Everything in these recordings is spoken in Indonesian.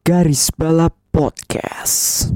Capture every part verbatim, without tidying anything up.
Garis Balap Podcast.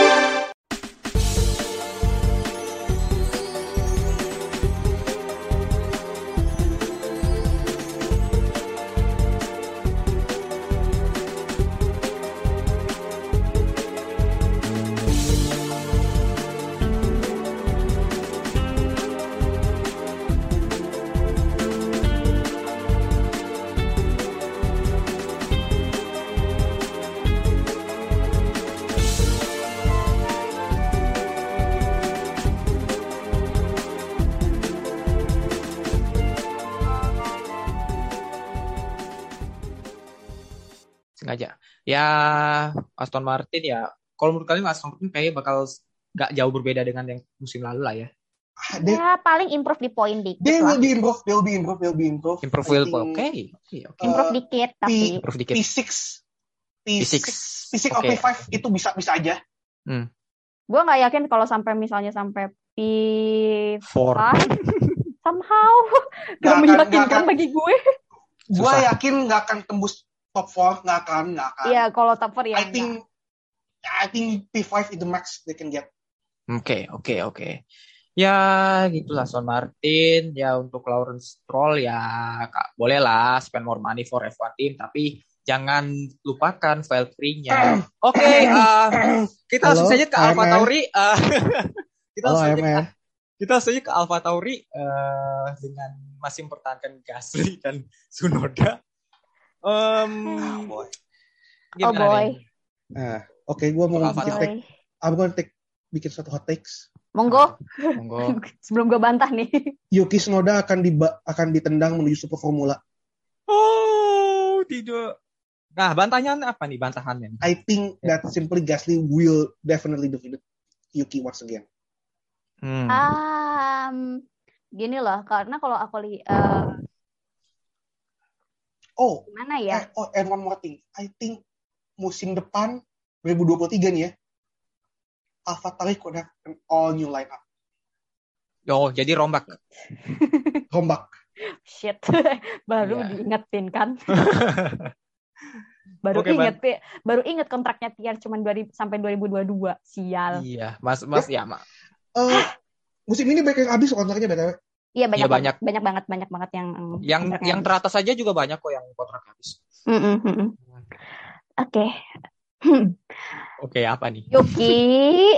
Sengaja. Ya Aston Martin ya. Kalau menurut kalian Aston Martin kayaknya bakal gak jauh berbeda dengan yang musim lalu lah ya. They, ya paling improve di poin dikit they lah. will be improve, they will be improve, they will be improve. Improve will oke. Okay. Okay, okay. Improve uh, dikit tapi P, improve dikit. P six P six P six okay. P five itu bisa bisa aja. Hmm. Gue nggak yakin kalau sampai misalnya sampai P four somehow nggak meyakinkan bagi gue. Gue yakin nggak akan tembus top four, nggak akan, nggak akan. Iya, kalau top four ya. I think, enggak. I think P five is the max they can get. Oke, okay, oke, okay, oke. Okay. Ya, gitulah Aston Martin. Ya untuk Lawrence Stroll ya, kak, boleh lah spend more money for F one team, tapi jangan lupakan Valtteri-nya. Oke, okay, uh, kita langsung saja ke Alpha Tauri. Uh, kita langsung saja ke, kita langsung saja ke Alpha Tauri uh, dengan masih mempertahankan Gasly dan Tsunoda. Um, oh boy. Oh boy. Nah, oke, okay, gue mau bikin take. I'm going to take bikin satu hot takes. Monggo. Monggo. Sebelum gue bantah nih. Yuki Tsunoda akan diba- akan ditendang menuju Super Formula. Oh, tidak. Nah, bantahannya apa nih bantahannya? I think that simply Gasly will definitely defeat Yuki once again. Hmm. Um, gini loh, karena kalau aku lihat uh, Oh, gimana ya? Eh, oh, and one more thing. I think musim depan dua ribu dua puluh tiga nih ya, AlphaTauri could have an all new lineup. Oh, jadi rombak. Rombak. Shit, baru yeah. diingetin kan? baru okay, inget, man. baru inget kontraknya Tier cuma sampai dua ribu dua puluh dua. Sial. Iya, Mas, Mas ya, Mak. Uh, musim ini banyak yang habis kontraknya B T W. Iya banyak, ya, banyak banyak banget banyak banget yang yang yang teratas saja juga banyak kok yang kontrak habis. Mm-hmm. Oke. Okay. Oke, okay, apa nih? Yuki.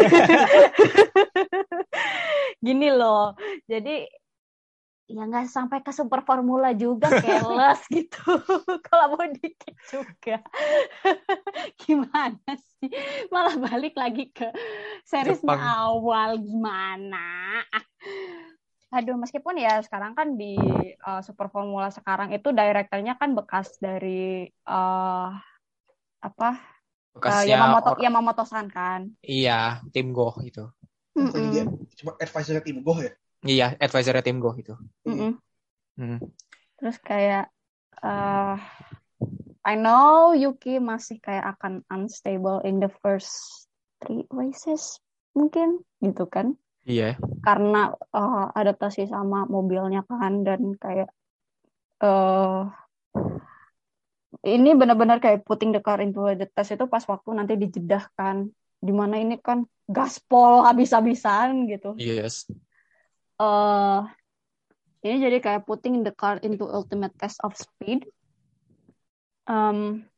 Gini loh. Jadi ya nggak sampai ke Super Formula juga keles gitu. Kalau mau dikit juga. Gimana sih? Malah balik lagi ke seriesnya awal gimana? Aduh, meskipun ya sekarang kan di uh, Super Formula sekarang itu directornya kan bekas dari uh, apa? Uh, Yamamoto, or... Yamamoto-san kan? Iya, tim Go itu. Mm-hmm. Cuma advisor tim Go ya? Iya, advisor tim Go itu. Mm-hmm. Mm. Terus kayak uh, I know Yuki masih kayak akan unstable in the first three races mungkin gitu kan? Iya. Karena uh, adaptasi sama mobilnya kan dan kayak uh, ini benar-benar kayak putting the car into the test itu pas waktu nanti dijedah kan, dimana ini kan gaspol habis-habisan gitu. Yes. Uh, ini jadi kayak putting the car into ultimate test of speed. Um,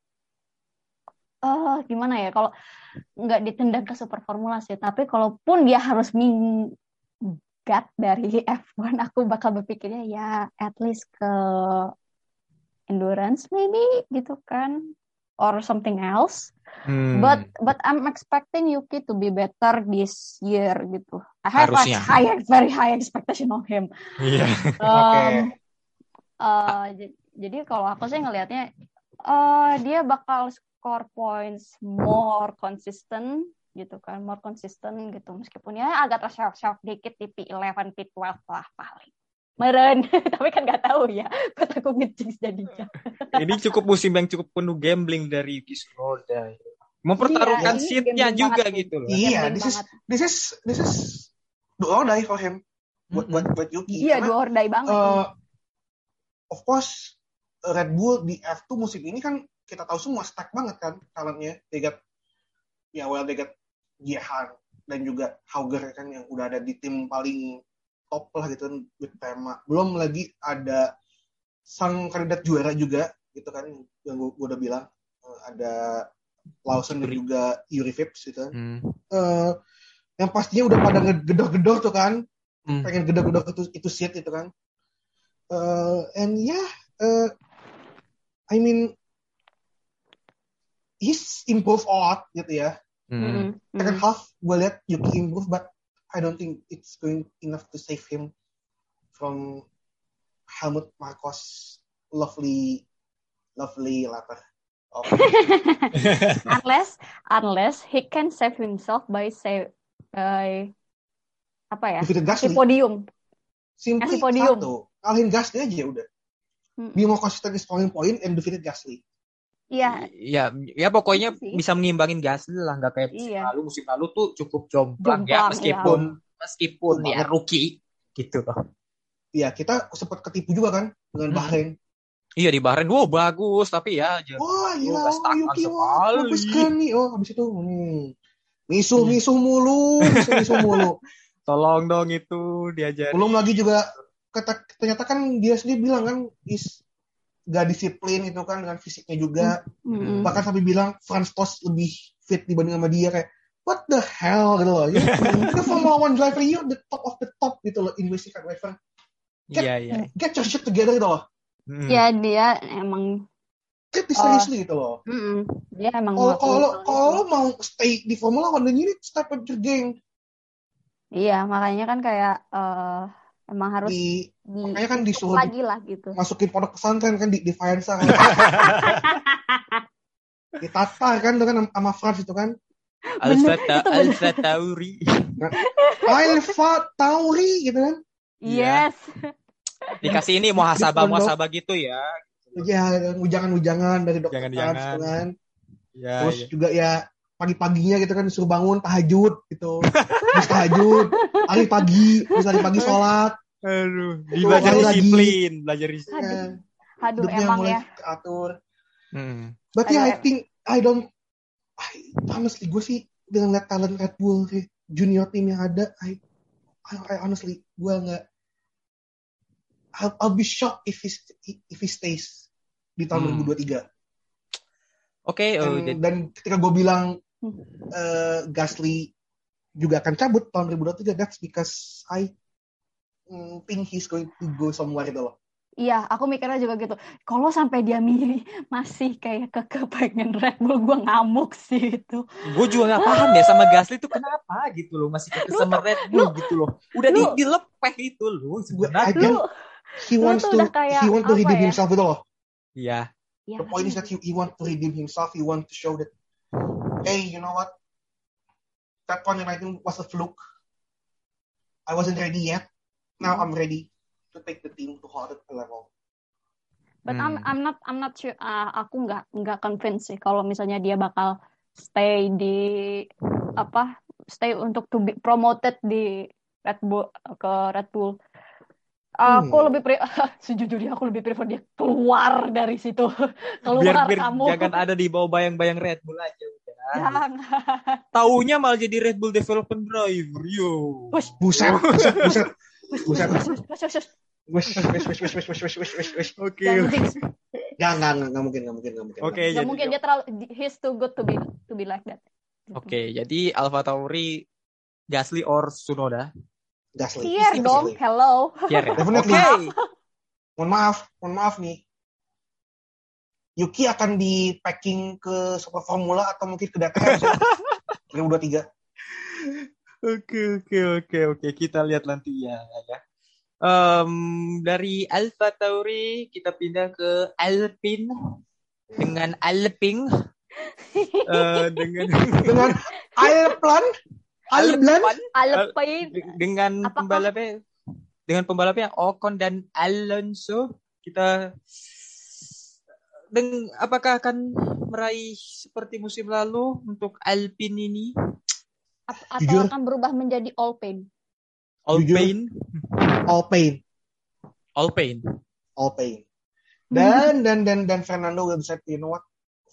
Uh, gimana ya kalau nggak ditendang ke Super Formula sih, tapi kalaupun dia harus minggat dari F one, aku bakal berpikirnya ya at least ke endurance maybe gitu kan, or something else. Hmm. But but I'm expecting Yuki to be better this year gitu. I have a high, very high expectation of him. Iya. Yeah. um, okay. uh, j- jadi kalau aku sih ngelihatnya uh, dia bakal score points more consistent gitu kan, more consistent gitu, meskipun ya agak terself-self dikit di P eleven, P twelve lah paling meren. Tapi kan nggak tahu ya, buat aku ngejinx jadinya. Ini cukup musim yang cukup penuh gambling dari Yuki Tsunoda, mempertaruhkan iya, seatnya juga banget, gitu loh. Iya, this is this is this is do or die for him, buat buat buat Yuki. Iya, do or die banget. Uh, of course Red Bull di F two musim ini kan kita tahu semua stack banget kan talentnya. They got ya well they got Jehan dan juga Hauger kan yang udah ada di tim paling top lah gitu kan with tema. Belum lagi ada sang kandidat juara juga gitu kan yang gue udah bilang uh, ada Lawson dan juga Yuri Vips gitu kan. Hmm. Uh, yang pastinya udah pada gedor-gedor tuh kan. Hmm. Pengen gedor-gedor itu itu seat itu kan. Uh, and yeah, uh, I mean he's improved a lot gitu ya. Mm-hmm. Second half gue lihat Yuki improve, but I don't think it's going enough to save him from Helmut Marko's lovely, lovely latter. Oh. unless, unless he can save himself by save by apa ya? Si podium. Simply podium. Satu, kalahin Gasly aja udah. Hmm. Be more consistent in scoring point and defeated Gasly. Iya. Ya, ya pokoknya sih. Bisa mengimbangin Gasly lah, nggak kayak musim iya. lalu. Musim lalu tuh cukup jomplang, jomplang ya, meskipun ya. meskipun ya rookie gitu loh. Iya, kita sempat ketipu juga kan dengan hmm. Bahrain. Iya di Bahrain, wow bagus, tapi ya wah iya, Yuki wah, bagus kan nih. Oh, habis itu hmm. misuh misuh mulu, misuh misuh mulu. Tolong dong itu diajarin. Belum lagi juga kata, ternyata kan dia sendiri bilang kan is gak disiplin itu kan dengan fisiknya juga. Mm-hmm. Bahkan sampai bilang Franz Tost lebih fit dibanding sama dia kayak what the hell gitu loh. Ya, itu Formula One driver you the top of the top gitu loh in racing car driver. Get, yeah, yeah. get your shit together gitu loh. Mm. Ya dia emang get this seriously uh, gitu loh. Mm-mm. Dia emang kalau kalau kalau mau stay di Formula One then you need to step up your game. Iya makanya kan kayak uh, emang harus di, di makanya kan disuruh lagi lah gitu. Masukin pondok pesantren kan di di Faenza kan. Ditatar kan tuh kan sama Franz itu kan. Alfa Alfa Tauri. Alfa Tauri gitu kan. Yes. Dikasih ini muhasabah muhasabah gitu ya. Iya, ujangan-ujangan dari dokter Franz gitu kan. Ya, terus ya. juga ya pagi-paginya gitu kan disuruh bangun tahajud gitu. Terus tahajud, hari pagi, terus hari pagi sholat. Aduh, belajar disiplin, belajar disiplin. Aduh, emang ya. Atur. Hmm. But yeah, I think I don't I, honestly gue sih dengan lihat talent Red Bull sih, junior team yang ada, I I, I honestly gue nggak I'll, I'll be shocked if he if he stays di tahun hmm. dua ribu dua puluh tiga. Oke, okay, oh, dan, dan ketika gue bilang uh, Gasly juga akan cabut tahun dua ribu dua puluh tiga, that's because I mm, think he's going to go somewhere gitu loh. Iya, aku mikirnya juga gitu. Kalau sampai dia milih masih kayak keke pengen Red Bull, gue ngamuk sih itu. Gue juga nggak paham ya sama Gasly itu kenapa gitu loh, masih keke sama Red Bull lu, gitu loh. Udah lu, di, dilepeh itu loh sebenarnya. Lu, he wants to he want to redeem ya? himself itu loh. Iya. Ya, the point is that he, he want to redeem himself. He want to show that, hey, you know what? That twenty nineteen was a fluke. I wasn't ready yet. Now I'm ready to take the team to another level. But hmm. I'm I'm not I'm not sure. Uh, aku nggak nggak convinced sih kalau misalnya dia bakal stay di apa stay untuk to be promoted di Red Bull ke Red Bull. Uh, aku hmm. lebih pre- sejujurnya aku lebih prefer dia keluar dari situ. Keluar biar, biar kamu. Jangan ada di bawah bayang-bayang Red Bull aja udah. Jangan. Taunya malah jadi Red Bull Development Driver. Yo. Buset, buset, buset. Buset. Buset. Wes, wes, wes, wes, wes, wes, wes, wes, wes. Oke. Jangan, nggak mungkin, nggak mungkin, nggak mungkin. Oke, nggak mungkin dia terlalu he's too good to be to be like that. Oke, okay, jadi Alfa Tauri, Gasly or Tsunoda? Gasly. Pierre dong, hello. Pierre. Oke. Okay. Mohon maaf, mohon maaf nih. Yuki akan di packing ke Super Formula atau mungkin ke D T M dua ribu dua puluh tiga. Oke, oke, oke, oke. Kita lihat nanti ya. ya. Um, dari Alfa Tauri kita pindah ke Alpine dengan Alpine uh, dengan dengan Alplan Alplan Alpine dengan Apakah? pembalapnya dengan pembalapnya Ocon dan Alonso. Kita dan apakah akan meraih seperti musim lalu untuk Alpine ini? Atau Jujur. akan berubah menjadi Alpine? Alpine, Alpine, Alpine, Alpine. Dan dan dan dan Fernando will decide, you know what?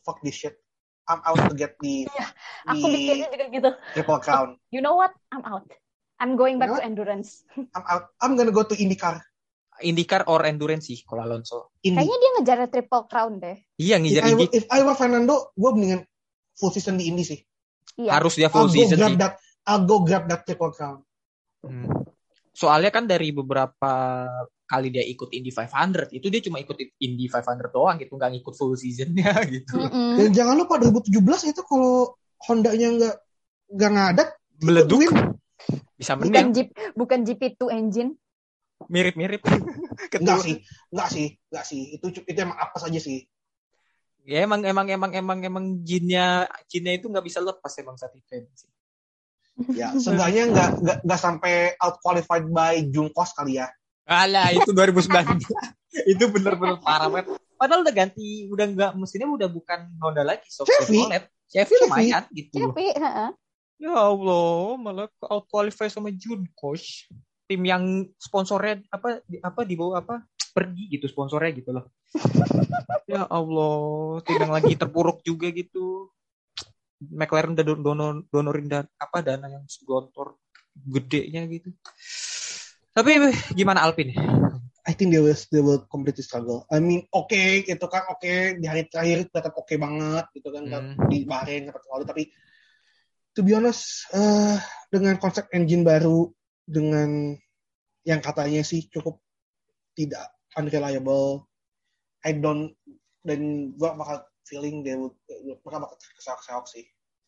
fuck this shit. I'm out to get the Iya, the aku mikirnya juga gitu. Triple Crown. You know what? I'm out. I'm going back You know to endurance. I'm out. I'm gonna go to IndyCar. IndyCar or endurance sih kalau Alonso. Indy. Kayaknya dia ngejar triple crown deh. Iya If ngejar I, Indy. if I were Fernando, gue mendingan full season di Indy sih. Iya. Harus dia I'll full go season grab sih. that. I'll go grab that Triple Crown. Hmm. Soalnya kan dari beberapa kali dia ikut Indy lima ratus, itu dia cuma ikut Indy lima ratus doang gitu, nggak ngikut full seasonnya gitu. Mm-mm. Dan jangan lupa dua ribu tujuh belas itu kalau Hondanya nggak nggak ngadat, Meleduk. win. Bisa Bukan menang. Jeep, bukan G P dua engine. Mirip-mirip. Enggak sih, enggak sih, enggak sih. Itu itu emang apa saja sih. Ya emang emang emang emang emang jinnya jinnya itu nggak bisa lepas emang saat itu. Ya, seenggaknya nggak nggak nggak sampai out qualified by Junkos kali ya. Alah itu dua ribu sembilan belas. Itu bener-bener parah banget. Padahal udah ganti, udah nggak, mesinnya udah bukan Honda lagi, so Chevy. Chevrolet. Chevy lumayan gitu. Tapi, heeh. Ya Allah, malah out qualify sama Junkos. Tim yang sponsornya apa di, apa di bawah apa pergi gitu sponsornya gitu loh. Ya Allah, tim yang lagi terpuruk juga gitu. McLaren udah donor donorin dan apa dana yang segontor gedenya gitu. Tapi gimana Alpine? I think they will they will completely struggle. I mean, oke okay, gitu kan, oke okay, di hari terakhir tetap oke okay banget gitu kan, Hmm. di Bahrain tetap lalu, tapi to be honest, uh, dengan konsep engine baru, dengan yang katanya sih cukup tidak unreliable, I don't, dan gua bakal feeling they will bakal bakal keseok-seok sih,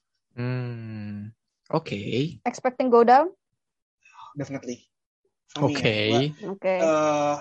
Hmm. Oke. Okay. Expecting go down? definitely. For me, Oke. ya. Gua, Oke. uh,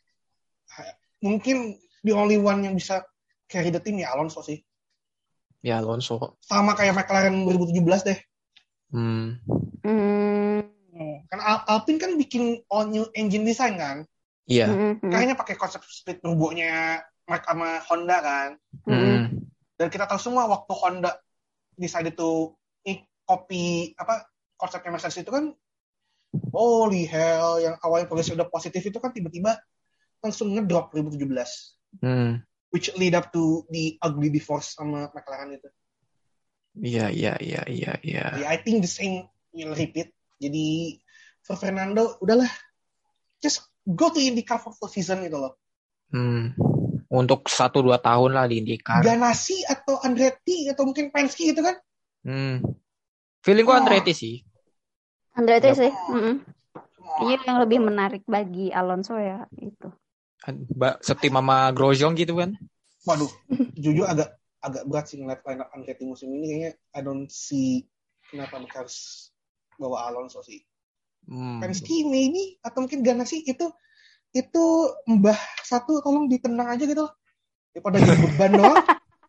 mungkin the only one yang bisa carry the team ya Alonso sih. Ya Alonso. Sama kayak McLaren dua ribu tujuh belas deh. Hmm. Hmm. Kan Al- Alpine kan bikin all new engine design kan. Iya. Mm-mm. Kayaknya pakai konsep split turbonya Mark sama Honda kan. Hmm. Dan kita tahu semua waktu Honda decided to eh, copy apa konsepnya Mercedes itu kan, holy hell, yang awalnya progresnya udah positif itu kan tiba-tiba langsung ngedrop dua ribu tujuh belas. Hmm. Which lead up to the ugly divorce sama McLaren itu. Iya, iya, iya, iya, iya. Yeah, I think the same will repeat. Jadi for Fernando, udahlah, just go to IndyCar for full season gitu loh. Hmm. Untuk satu dua tahun lah di IndyCar. Ganassi atau Andretti atau mungkin Penske gitu kan? Hmm. Feeling gua Oh. Andretti sih. Andretti Yep. sih. Mm-mm. Iya yang lebih menarik bagi Alonso ya itu. Mbak setim sama Grosjean gitu kan. Waduh, jujur agak agak berat sih ngeliat line up Andretti musim ini, kayaknya I don't see kenapa mereka harus bawa Alonso sih. Hmm. Penske maybe atau mungkin Ganassi itu itu mbah satu tolong ditenang aja gitu loh. Daripada jadi beban doang.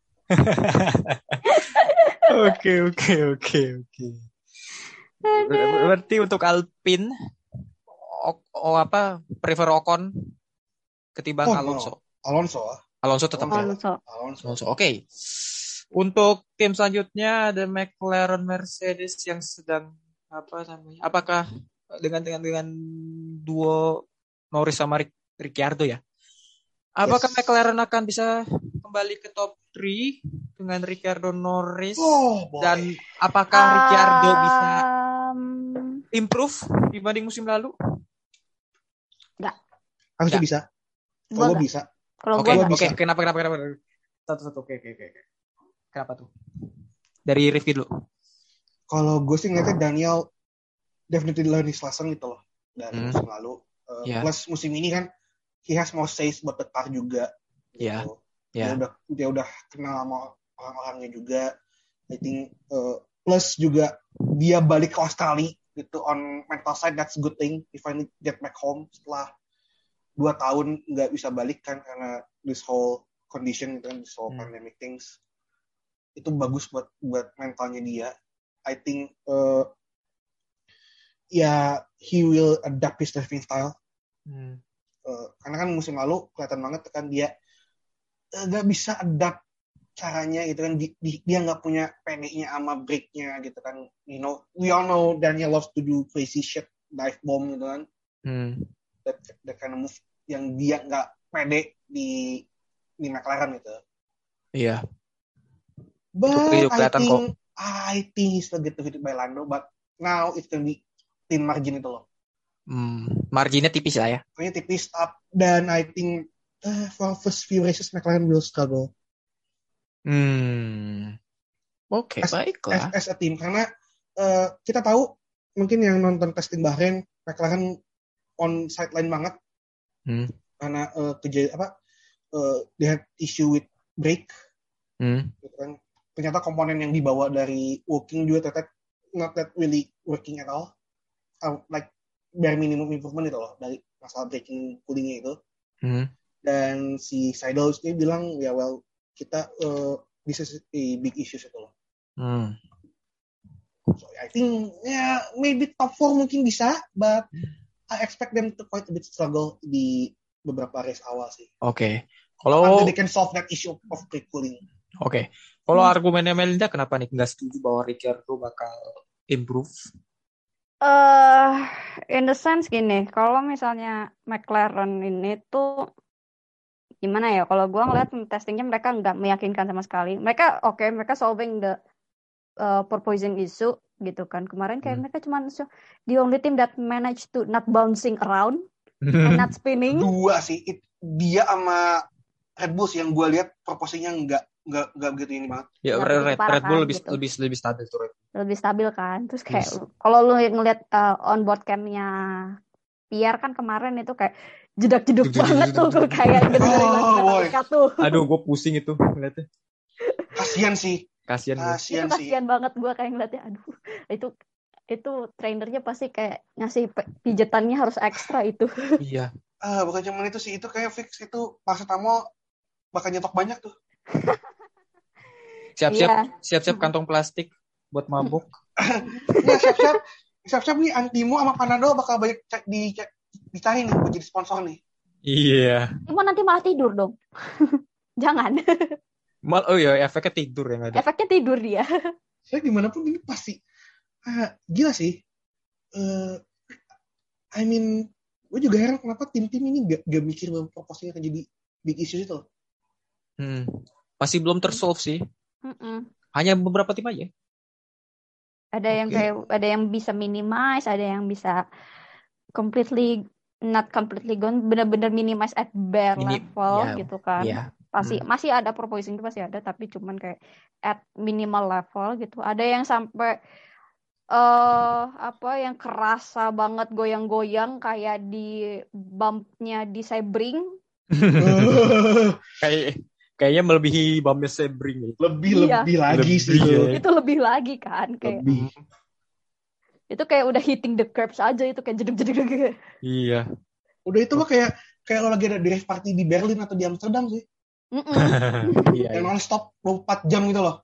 Oke, oke, oke, oke. Ber- Berarti untuk Alpine o, o apa prefer Ocon ketimbang Oh, no. Alonso. Alonso. Alonso tetap ya. Alonso. Alonso. Alonso. Oke. Untuk tim selanjutnya ada McLaren Mercedes yang sedang apa namanya? Apakah dengan dengan dengan duo Norris sama Ric- Ricciardo ya? Apakah Yes. McLaren akan bisa kembali ke top tiga dengan Ricciardo Norris? Oh, boy. Dan apakah Ricciardo bisa Um, improve dibanding musim lalu? Harusnya Nggak. bisa. Gua Kalau nggak. bisa. Kalau Oke, gue gua oke. bisa. Kenapa, kenapa, kenapa? Satu-satu. Oke, oke, oke. oke. Kenapa tuh? Dari Rifki dulu. Kalau gue sih ngeliatnya Daniel definitely learn his lesson gitu loh dari Hmm. musim lalu. Uh, Yeah. Plus musim ini kan he has more says buat the car juga. Gitu. Yeah. Dia Ya. udah dia udah kenal sama orang-orangnya juga. I think uh, plus juga dia balik ke Australia gitu on mental side, that's good thing. He finally get back home setelah dua tahun nggak bisa balik kan karena this whole condition gitu kan, this whole Hmm. pandemic things. Itu bagus buat buat mentalnya dia. I think uh, ya he will adapt his driving style. Hmm. Uh, karena kan musim lalu kelihatan banget kan dia nggak uh, bisa adapt caranya gitu kan, di, di, dia nggak punya P D-nya sama brake-nya gitu kan, you know, we all know Daniel loves to do crazy shit, dive bomb gitu kan, Hmm. that, that kind of move yang dia nggak pede di di McLaren gitu. Iya. But Itu I kelihatan think kok. I think he's still get defeated by Lando, but now it's gonna be thin margin itu loh. Hmm, marginnya tipis lah ya. Pokoknya tipis up, dan I think uh, for first few races McLaren will struggle. Hmm. Oke, as, baiklah. as, as a team, karena uh, kita tahu mungkin yang nonton testing Bahrain, McLaren on sideline banget. Hmm. Karena uh, kejadian apa uh, they had issue with brake. Hmm. Gitu kan. Ternyata komponen yang dibawa dari working juga ternyata not that really working at all. Uh, like bare minimum improvement itu loh dari masalah braking coolingnya itu. Hmm. Dan si Seidel ini bilang ya well kita uh, this is a big issue itu loh. Hmm. So I think ya yeah, maybe top four mungkin bisa, but I expect them to quite a bit struggle di beberapa race awal sih. Oke. Okay. Kalau until they can solve that issue of brake cooling. Oke. Okay. Kalau hmm. argumennya Melinda kenapa nih nggak setuju bahwa Ricciardo bakal improve? Uh, in the sense gini, kalau misalnya McLaren ini tuh gimana ya? Kalau gue ngeliat testingnya mereka nggak meyakinkan sama sekali. Mereka oke, okay, mereka solving the uh, porpoising issue gitu kan. Kemarin kayak hmm. mereka cuma the only team that managed to not bouncing around and not spinning. Dua sih, it, dia sama Red Bull yang gue lihat proporsinya nggak nggak nggak begitu ini banget. Ya Red, Red, Red Bull kan, lebih, gitu. lebih lebih stabil tuh Red. Lebih stabil kan. Terus kayak yes. kalau lu ngeliat uh, on board cam-nya Pierre kan kemarin itu kayak jedak-jeduk banget tuh kayak bener-bener oh, tuh. Aduh, gue pusing itu ngeliatnya. Kasian sih. Kasian. Kasian itu kasian banget gue kayak ngeliatnya. Aduh, itu itu trainernya pasti kayak ngasih pijetannya harus ekstra itu. Iya. Ah, bukan cuma itu sih, itu kayak fix itu Parsetamo bakal nyetok banyak tuh. Siap-siap, iya. siap-siap kantong plastik buat mabuk. Nah, siap-siap, siap-siap nih Antimo sama Panadol bakal banyak di dicari nih buat jadi sponsor nih. Iya. Cuma nanti malah tidur dong. Jangan. Mal, oh iya, efeknya tidur yang ada. Efeknya tidur dia. Saya gimana pun ini pasti, ah, gila sih. Uh, I mean, gue juga heran kenapa tim-tim ini gak, gak mikir bahwa proposnya akan jadi big issue itu. Hmm. Masih belum tersolve sih. Mm-mm. Hanya beberapa tim aja. Ada okay. yang kayak ada yang bisa minimize, ada yang bisa completely not completely gone, benar-benar minimize at bare Mini- level yeah, gitu kan. Yeah. Pasti hmm. masih ada proposing itu pasti ada, tapi cuman kayak at minimal level gitu. Ada yang sampai uh, apa yang kerasa banget goyang-goyang kayak di bumpnya di Sebring. kayak kayaknya melebihi bumpnya Sebring. Lebih iya. lebih lagi lebih, sih. Ya. Itu lebih lagi kan kayak. Lebih. Itu kayak udah hitting the curbs aja itu kayak jedeg-jedeg. Iya. Udah itu mah kayak kayak lo lagi ada drive party di Berlin atau di Amsterdam sih. Iya. Yang non stop dua puluh empat jam gitu loh.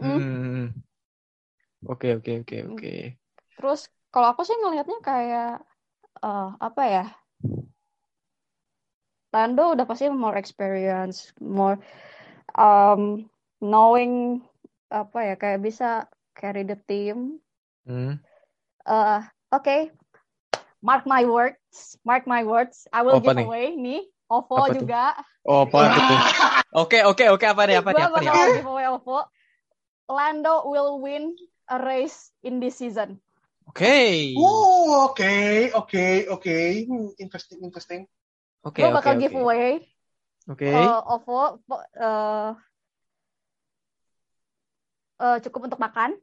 Oke oke oke oke. Terus kalau aku sih ngelihatnya kayak uh, apa ya? Lando udah pasti more experience, more um, knowing apa ya kayak bisa carry the team. Hmm. Uh, Oke, okay. Mark my words, mark my words. I will apa give nih? away nih, Ovo apa juga. Tuh? Oh, apa tuh? Oke oke oke apa nih apa nih apa nih? Gue bakal give away Ovo. Lando will win a race in this season. Oke. Okay. Oh oke okay, oke okay, oke. Okay. Hmm, interesting interesting. Oke, gue okay, bakal okay, giveaway. Oke. Okay. Uh, Ovo uh, uh, cukup untuk makan.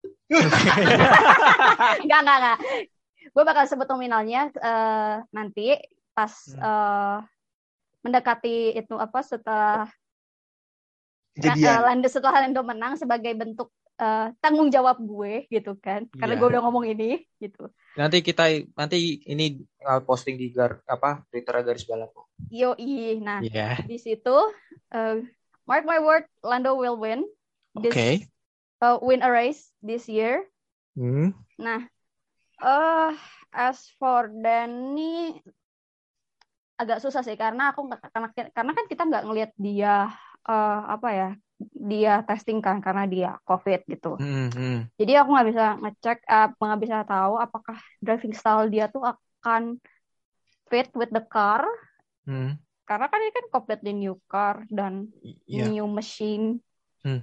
Enggak, enggak, enggak. Gue bakal sebut nominalnya uh, nanti pas hmm. uh, mendekati itu apa setelah uh, Lando setelah Lando menang sebagai bentuk uh, tanggung jawab gue gitu kan. Karena yeah. gue udah ngomong ini gitu. Nanti kita nanti ini posting di gar, apa Twitter garis balap. Yoi. Nah, yeah. di situ uh, mark my word, Lando will win. Oke. Okay. Uh, win a race this year. Hmm. Nah, uh, as for Danny agak susah sih karena aku karena karena kan kita nggak ngelihat dia uh, apa ya dia testing kan karena dia COVID gitu. Hmm, hmm. Jadi aku nggak bisa ngecek, uh, nggak bisa tahu apakah driving style dia tuh akan fit with the car. Hmm. Karena kan ini kan completely new car dan yeah. new machine. Hmm.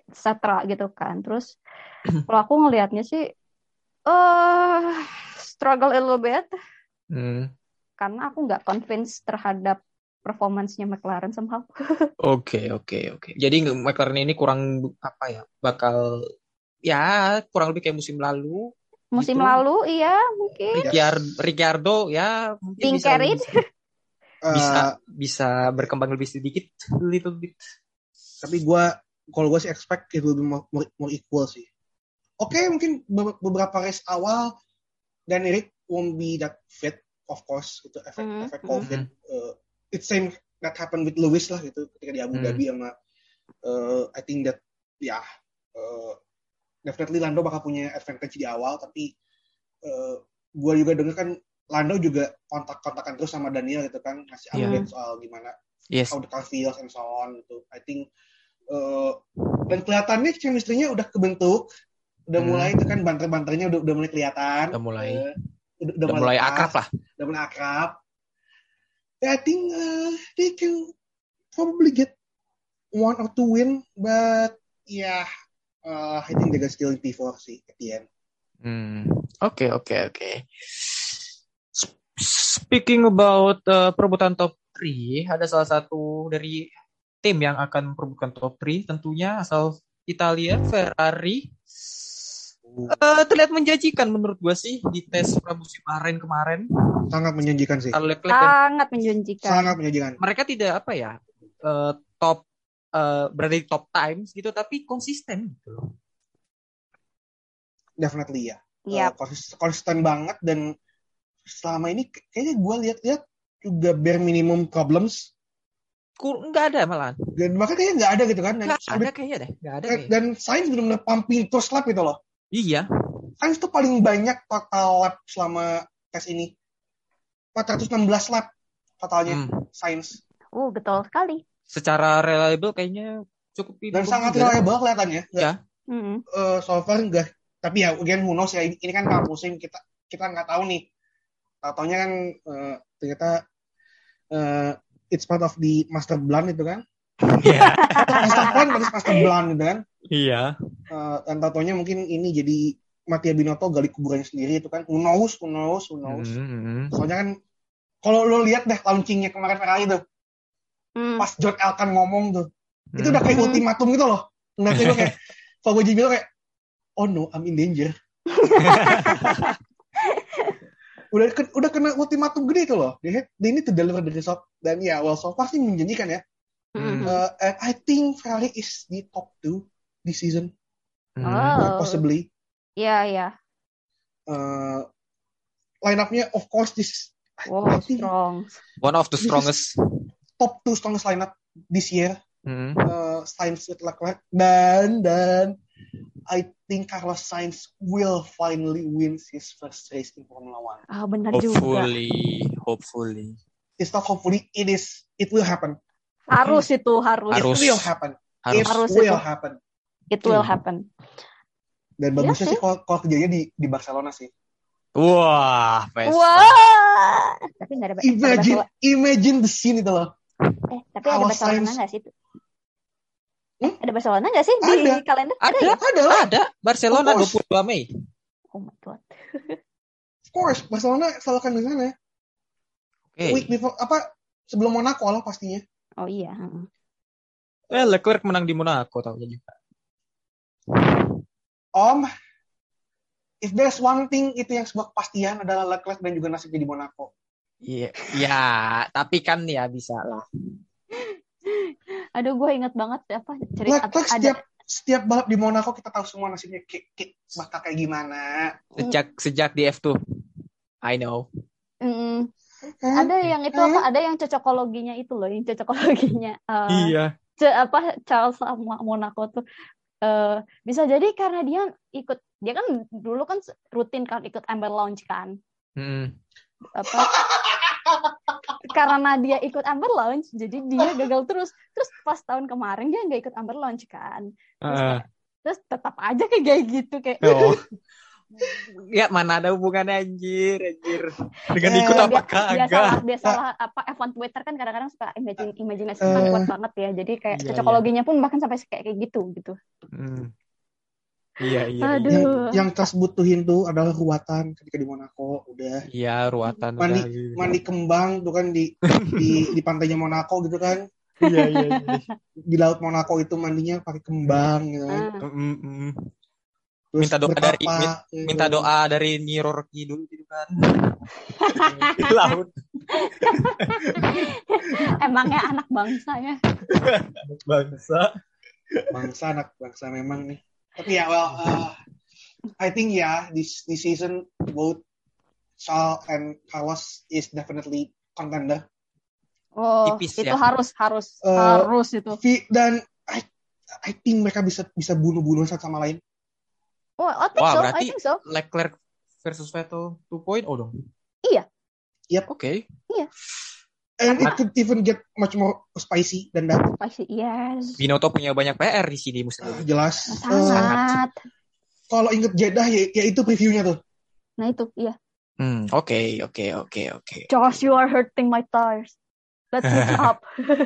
cetera gitu kan. Terus kalau aku ngelihatnya sih eh struggle a little bit Hmm. karena aku nggak convinced terhadap performance-nya McLaren somehow. Oke, oke, oke. Jadi McLaren ini kurang apa ya? Bakal ya kurang lebih kayak musim lalu Musim gitu. lalu iya mungkin Ricciardo, Ricciardo ya mungkin being bisa carried. bisa Uh, bisa berkembang lebih sedikit, little bit. tapi gue kalau gue sih expect it will be more, more, more equal sih. Oke, okay, mungkin be- beberapa race awal dan Eric won't be that fit, of course, itu efek Mm-hmm. efek COVID. Mm-hmm. Uh, it's same that happened with Lewis lah gitu ketika di Abu Mm-hmm. Dhabi sama uh, I think that ya yeah, uh, definitely Lando bakal punya advantage di awal, tapi uh, gue juga dengar kan Lando juga kontak-kontakan terus sama Daniel gitu kan, ngasih update Yeah. soal gimana Yes. how the car feels and so on gitu. I think uh, dan kelihatannya chemistry-nya udah kebentuk, udah Hmm. mulai itu kan banter-banternya udah, udah mulai kelihatan. Udah mulai uh, udah, udah mulai akrab lah. Udah mulai akrab. Yeah, I think uh, they can probably get one or two win, but yeah, uh, I think they're gonna still in P four sih at the end. Hmm. Oke, oke, oke. Speaking about uh, perebutan top tiga, ada salah satu dari tim yang akan memperebutkan top tiga, tentunya asal Italia, Ferrari. Uh, terlihat menjanjikan menurut gue sih di tes pramusim kemarin kemarin. Sangat menjanjikan sih. Sangat menjanjikan. Sangat menjanjikan. Mereka tidak apa ya uh, top uh, berada di top times gitu, tapi konsisten gitu loh. Definitely ya. Yep. Uh, konsisten banget dan selama ini kayaknya gue lihat-lihat juga bare minimum problems. Nggak ada malah. Dan bahkan kayaknya nggak ada gitu kan. Nggak ada kayaknya deh. Nggak ada kayaknya. Dan Sainz benar-benar pumping terus lap gitu loh. Iya. Sainz tuh paling banyak total lap selama tes ini. empat ratus enam belas lap totalnya hmm. Sainz. Oh, betul sekali. Secara reliable kayaknya cukup. Dan sangat reliable kelihatannya. Ya. Mm-hmm. Uh, so far enggak. Tapi ya, again, who knows ya. Ini kan tahun musim, kita kita nggak tahu nih. Taunya kan uh, ternyata uh, it's part of the master plan itu kan. Iya. Master plan harus master plan gitu kan. Iya. Uh, dan taunya mungkin ini jadi Mattia Binotto gali kuburannya sendiri itu kan. Who knows, who knows, who knows. Mm-hmm. Soalnya kan kalau lo lihat deh launchingnya kemarin Ferrari tuh. Mm. Pas John Elkann ngomong tuh. Mm. Itu udah kayak ultimatum gitu loh. Nanti gue kayak Fauji bilang kayak oh no, I'm in danger. udah udah kena ultimatum gede itu loh. They, they need to deliver the result. Dan ya, well so far sih menjanjikan ya. Mm-hmm. Uh, and I think Ferrari is the top two this season. Oh. Possibly. Iya, yeah, iya. Yeah. Uh, line-up-nya of course this wow, strong. One of the strongest. Top two strongest lineup this year. Mm-hmm. Uh, Sainz with Leclerc dan dan I think Carlos Sainz will finally win his first race in Formula One. Ah, benar hopefully, juga. Hopefully, It's not hopefully, it is. It will happen. Harus itu, harus. It will happen. Harus. It harus will itu. happen. It will happen. Dan bagusnya ya, sih kalau, kalau kerjanya di di Barcelona sih. Wah, Vespa. Wah. Tapi nggak ada. Imagine, ada imagine the scene itu loh. Eh, tapi ada Barcelona nggak sih? Hmm? Ada Barcelona nggak sih di ada. kalender? Ada, ada, ya? ada, ada. Barcelona dua puluh dua Mei. Oh my god. Of course, Barcelona selalu kan di sana. Okay. Week before apa sebelum Monaco lah pastinya. Oh iya. Eh, Leclerc menang di Monaco tahu juga. Om, if there's one thing itu yang sebuah kepastian adalah Leclerc dan juga nasibnya di Monaco. Iya, ya, tapi kan ya bisa lah. Aduh, gue inget banget apa cerita Leclerc setiap ada... setiap balap di Monaco kita tahu semua nasibnya kayak, kayak bakal kayak gimana. Sejak sejak di F two, I know. Mm. Hmm? Ada yang itu apa? Ada yang cocokologinya itu loh, yang cocokologinya. Uh, iya. Ce- apa Charles sama Monaco tuh uh, bisa jadi karena dia ikut, dia kan dulu kan rutin kan ikut Amber Lounge kan. Mm. Apa? Karena dia ikut Amber Lounge, jadi dia gagal terus. Terus pas tahun kemarin dia nggak ikut Amber Lounge kan. Terus, uh. terus tetap aja kayak gitu kayak. Oh. Ya mana ada hubungannya anjir, anjir. Dengan Eh, ikut dia- apa biasalah kagak? biasalah apa F satu Twitter kan kadang-kadang suka imagine imajinasi Eh. kan kuat banget ya. Jadi kayak Iya, cocokologinya pun bahkan sampai kayak kayak gitu gitu. Hmm. Iya, iya, Aduh. yang iya. yang Charles butuhin tuh adalah ruatan ketika di Monaco udah Iya, ruatan mandi udah. mandi kembang tuh kan di di di pantainya Monaco gitu kan, Iya, iya, iya. di laut Monaco itu mandinya pakai kembang gitu kan. Ah. Mm, mm. Terus Minta doa dari bertapa, min- gitu. minta doa dari Niro Rocky dulu gitu kan. Di laut. Emangnya anak bangsa ya. Bangsa. bangsa anak bangsa memang nih. Tapi ya well uh, I think ya yeah, this this season both Charles and Carlos is definitely contender. Oh, Tipis itu ya. harus harus Eh, harus itu. Vi- dan I I think mereka bisa bisa bunuh-bunuh satu sama lain. Oh, I think Wah, so. I berarti think so. Leclerc versus Vettel dua titik nol dong. Iya. Yep. Oke. And it could even get much more spicy than that. Pasti yes. Binotto punya banyak P R di sini musim ini. Jelas. Eh, Sangat. kalau inget Jeddah ya, ya itu previewnya tuh. Nah itu, iya. Hmm, oke, oke, oke, oke. Josh, you are hurting my tires. Let's switch up.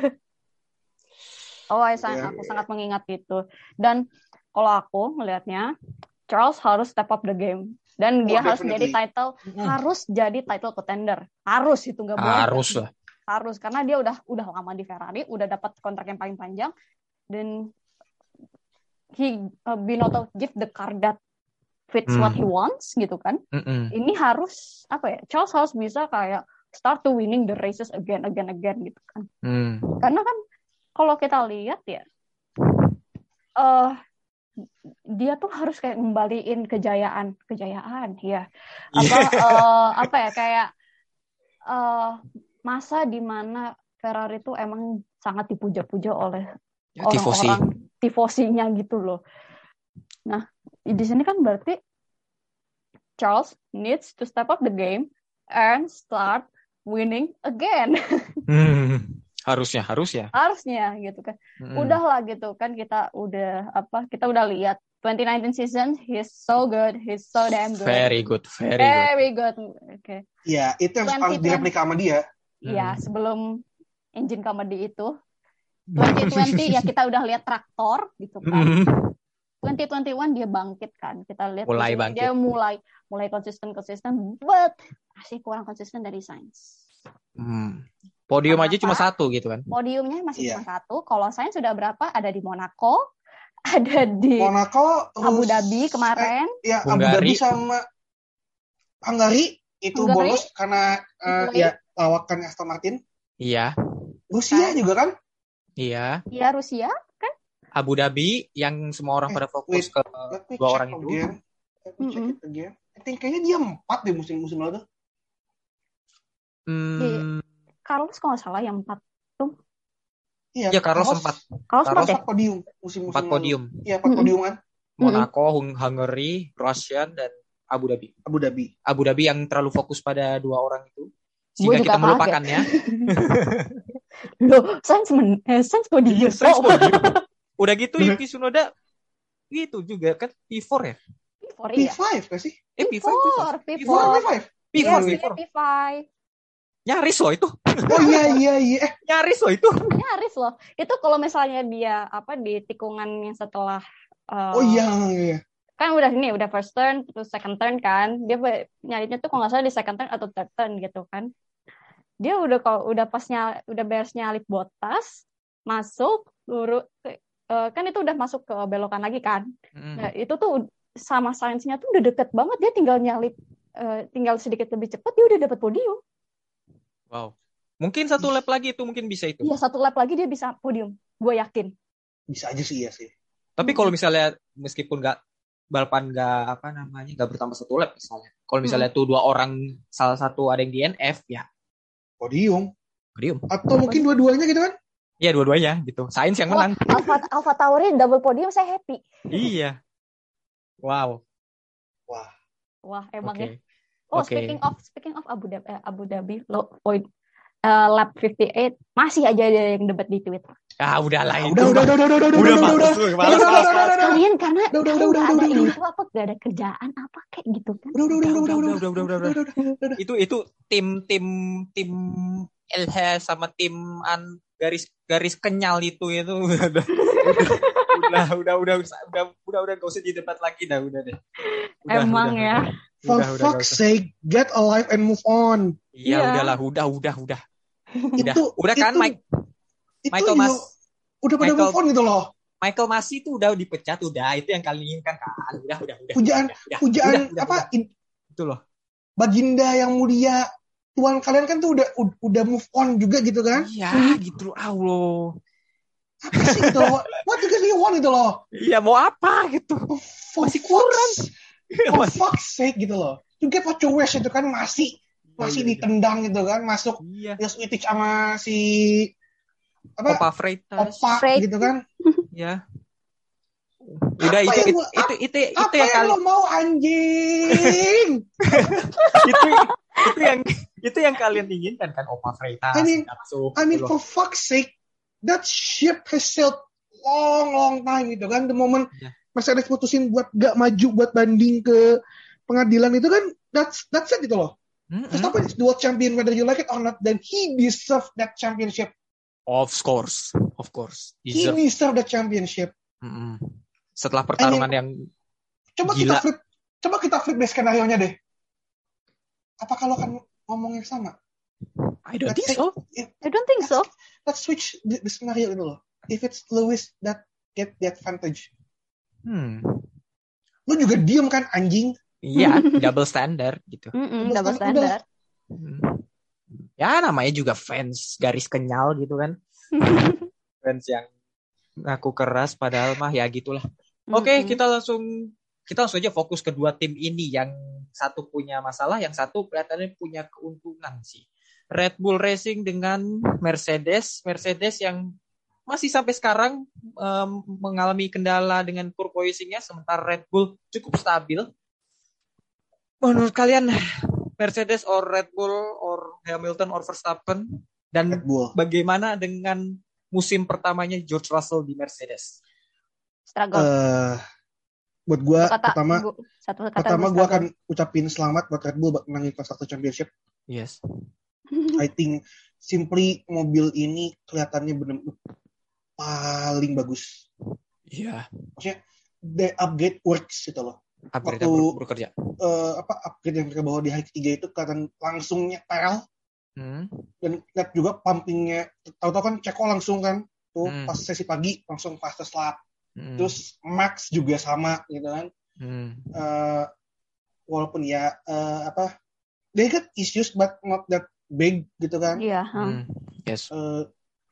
Oh, I sang- Yeah. aku sangat mengingat itu. Dan kalau aku melihatnya, Charles harus step up the game. Dan dia Oh, harus jadi definitely. title, harus jadi title contender. Harus itu nggak boleh. Harus lah. Harus karena dia udah udah lama di Ferrari, udah dapat kontrak yang paling panjang, dan he uh, Binotto give the car that fits Hmm. what he wants gitu kan. Mm-mm. Ini harus apa ya? Charles harus bisa kayak start to winning the races again again again gitu kan. Hmm. Karena kan kalau kita lihat ya, eh dia tuh harus kayak ngembaliin kejayaan, kejayaan ya. Apa eh, apa ya kayak eh masa di mana Ferrari tuh emang sangat dipuja-puja oleh Ya, tifosi. orang-orang tifosinya gitu loh. Nah, di sini kan berarti Charles needs to step up the game and start winning again. Hmm. Harusnya, harusnya. Harusnya gitu kan. Mm-mm. Udahlah gitu kan, kita udah apa? Kita udah lihat twenty nineteen season, he's so good, he's so damn good. Very good, very good. Very good. Oke. Ya, itu yang harus twenty direplika sama dia. Iya, Hmm. sebelum engine comedy itu twenty twenty ya kita udah lihat traktor gitu kan. Mm. twenty twenty-one dia bangkit kan. Kita lihat Mulai di sini bangkit. dia mulai mulai konsisten-konsisten, but masih kurang konsisten dari Sainz. Hmm. Podium Kenapa? aja cuma satu gitu kan. Podiumnya masih Iya. cuma satu. Kalau Sainz sudah berapa? Ada di Monaco, ada di Monaco, Abu terus- Dhabi kemarin. Eh, ya, Abu Hungari. Dhabi sama Hungary itu Hungary. bonus karena eh, Hungary. ya lawakan Aston Martin. Iya, Rusia Kan? juga kan? iya. Ya Rusia. Abu Dhabi yang semua orang Eh, pada fokus wait. ke Let me dua check orang itu. again. Let me check Mm-mm. it again. I think kayaknya dia empat deh musim-musim lalu tuh. Hmm. Carlos kalau nggak salah yang empat. Iya, Ya Carlos empat, Carlos empat Carlos ya? empat podium musim-musim empat lalu. podium. Iya, empat Mm-mm. podium kan. Monaco, Hung- Hungary, Russian dan Abu Dhabi. Abu Dhabi. Abu Dhabi yang terlalu fokus pada dua orang itu Gua sehingga juga kita kaget. melupakannya. Loh, Sainz men, eh, Sainz podium. Iya, Sainz Oh. podium. Udah gitu Yuki Tsunoda gitu juga kan P empat ya? P empat P iya. lima gak sih? Eh P P lima, empat, P P empat, empat. P lima. P empat, Yes, P dia empat. P lima. Nyaris loh itu. Oh iya iya iya. Eh, Nyaris loh itu. Nyaris loh. Itu kalau misalnya dia apa di tikungan yang setelah eh, oh iya iya. kan udah ini udah first turn terus second turn kan, dia be- nyarinya tuh kalau nggak salah di second turn atau third turn gitu kan. Dia udah kalau udah pas nyal, udah beres nyalip Bottas, masuk lurus eh, kan itu udah masuk ke belokan lagi kan. Hmm. Nah, itu tuh sama Sainz-nya tuh udah deket banget, dia tinggal nyalip eh, tinggal sedikit lebih cepat dia udah dapat podium. Wow. Mungkin satu lap lagi itu mungkin bisa itu. Iya, satu lap lagi dia bisa podium. Gue yakin. Bisa aja sih ya sih. Tapi kalau misalnya meskipun nggak balapan nggak apa namanya nggak bertambah satu lap misalnya. Kalau misalnya tuh dua orang salah satu ada yang D N F ya Podium. podium. Atau mungkin dua-duanya gitu kan? Iya dua-duanya gitu. Sainz yang Wah, menang. Alfa Alfa Tauri double podium saya happy. Iya. Wow. Wah. Wah, Oke. emang ya. Oh, Oke. speaking of speaking of Abu Dhabi, eh, Abu Dhabi, lo point uh, lap lima puluh delapan masih aja ada yang debat di Twitter. Ah, udahlah itu. Udah, udah, udah, udah, udah, udah, Udah udah, males, udah, lu, udah, males, udah, males. udah, udah, udah. Kalian karena Udah, udah, kalau udah, nggak udah, ada udah, itu apa nggak ada kerjaan apa kayak gitu kan? Udah, udah, udah, udah, udah, udah, udah, udah, udah, udah. Itu itu tim tim tim L H sama tim an garis garis kenyal itu itu udah udah udah udah udah udah udah udah gak usah didebat lagi dah udah deh. Udah, Emang udah, ya. udah. For Udah, udah, fuck's gak usah. sake, get a life and move on. Iya, Iya. udahlah, udah, udah, udah. Udah, Itu, udah kan itu, Mike itu Michael you- Mas udah pada Michael- move on gitu loh. Michael Masi itu udah dipecat, udah itu yang kalian inginkan kan. Udah, udah, udah. Pujaan, udah, udah, pujaan udah, udah, apa? udah. in- Itu loh. Baginda yang mulia, tuan kalian kan tuh udah ud- udah move on juga gitu kan? Iya, gitu loh. Allah. Apa sih gitu loh? What do you guys want gitu loh? Iya, mau apa gitu. For Masih kurang. fuck's- For fuck's sake gitu loh. You get what you wish itu kan masih masih Iya, iya, ditendang gitu kan, masuk Iya. Yos Wittich sama si apa? Opa Freitas. Opa Freitas. gitu kan? Ya. Udah Apa itu yang itu, gua- itu itu itu Apa yang yang kali lo mau anjing? itu itu yang itu yang kalian inginkan kan Opa Freitas. I mean- Gatsu, I mean gitu for loh. fuck's sake, that ship has sailed long long time gitu kan. The moment Iya. Mercedes putusin buat gak maju buat banding ke pengadilan itu kan that's that's it gitu loh. Mm-mm. Verstappen is the world champion whether you like it or not, then he deserve that championship. Of course, of course. He Deserve. deserve that championship. Mm-mm. Setelah pertarungan yang Coba Gila. kita flip, coba kita flip deh skenario-nya deh. Apa kalau kan ngomong yang sama? I don't Let's think say- so. I don't think so. Let's switch the, the scenario itu loh. If it's Lewis that get the advantage, Hmm. lu juga diem kan anjing? Iya, double standard gitu. Mm-mm, Double double standard, standard. Hmm. Ya namanya juga fans garis kenyal gitu kan. Fans yang ngaku keras padahal mah ya gitulah. Oke, Mm-mm. kita langsung kita langsung aja fokus ke dua tim ini. Yang satu punya masalah, yang satu kelihatannya punya keuntungan sih. Red Bull Racing dengan Mercedes, Mercedes yang masih sampai sekarang um, mengalami kendala dengan porpoising-nya, sementara Red Bull cukup stabil. Menurut kalian Mercedes or Red Bull or Hamilton or Verstappen, dan Red Bull. bagaimana dengan musim pertamanya George Russell di Mercedes? Struggle. Eh, buat gue Satu kata, pertama gua- satu kata pertama gua gue struggle. akan ucapin selamat buat Red Bull buat menangin Constructor Championship. Yes. I think simply mobil ini kelihatannya benar-benar paling bagus. Iya. The upgrade works gitu loh. Upgrade Waktu- ber- bekerja. Eh, apa upgrade yang mereka bawa di hari ketiga itu kelihatan langsung nyetel Hmm. dan lihat juga pumpingnya. Tahu-tahu kan Ceko langsung kan tuh Hmm. pas sesi pagi langsung fastest lap. Hmm. Terus Max juga sama gitu kan. Hmm. Eh, walaupun ya eh, apa they got issues but not that big gitu kan. Iya. huh. Hmm. Yes. Eh,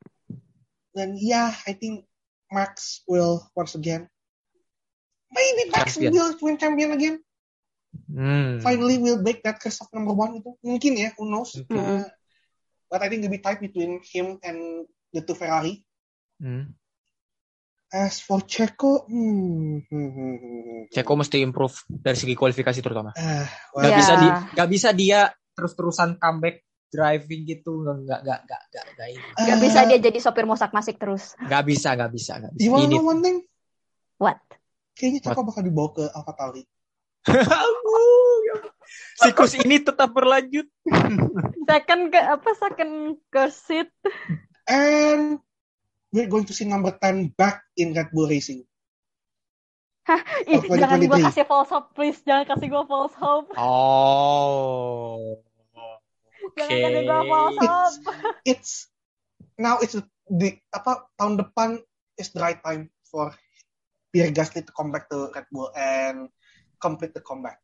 dan ya I think Max will once again maybe Max Champion. will win champion again. Hmm. Finally will break that curse of number one itu mungkin ya, who knows. Mungkin. Uh, but I think it'll be tight between him and the two Ferrari. Hmm. As for Checo, hmm, hmm, hmm, hmm, hmm. Ceko mesti improve dari segi kualifikasi terutama. Ah, Gak well, Ya. bisa di, gak bisa dia terus-terusan comeback driving gitu, nggak nggak nggak nggak nggak ini. Gak uh, bisa dia jadi sopir mosak masik terus. Nggak bisa, nggak bisa, nggak bisa. You wanna Ini. know one thing? What? Kayaknya Checo bakal dibawa ke AlphaTauri. Siklus ini tetap berlanjut. Second ke apa? Second ke seat. And we're going to see number ten back in Red Bull Racing. Ih, Oh, jangan twenty gua twenty-three. kasih false hope, please. Jangan kasih gua false hope. Oh. Jangan Oke. kasih gua false hope. It's now it's the apa tahun depan is the right time for Pierre Gasly to come back to Red Bull and complete the comeback.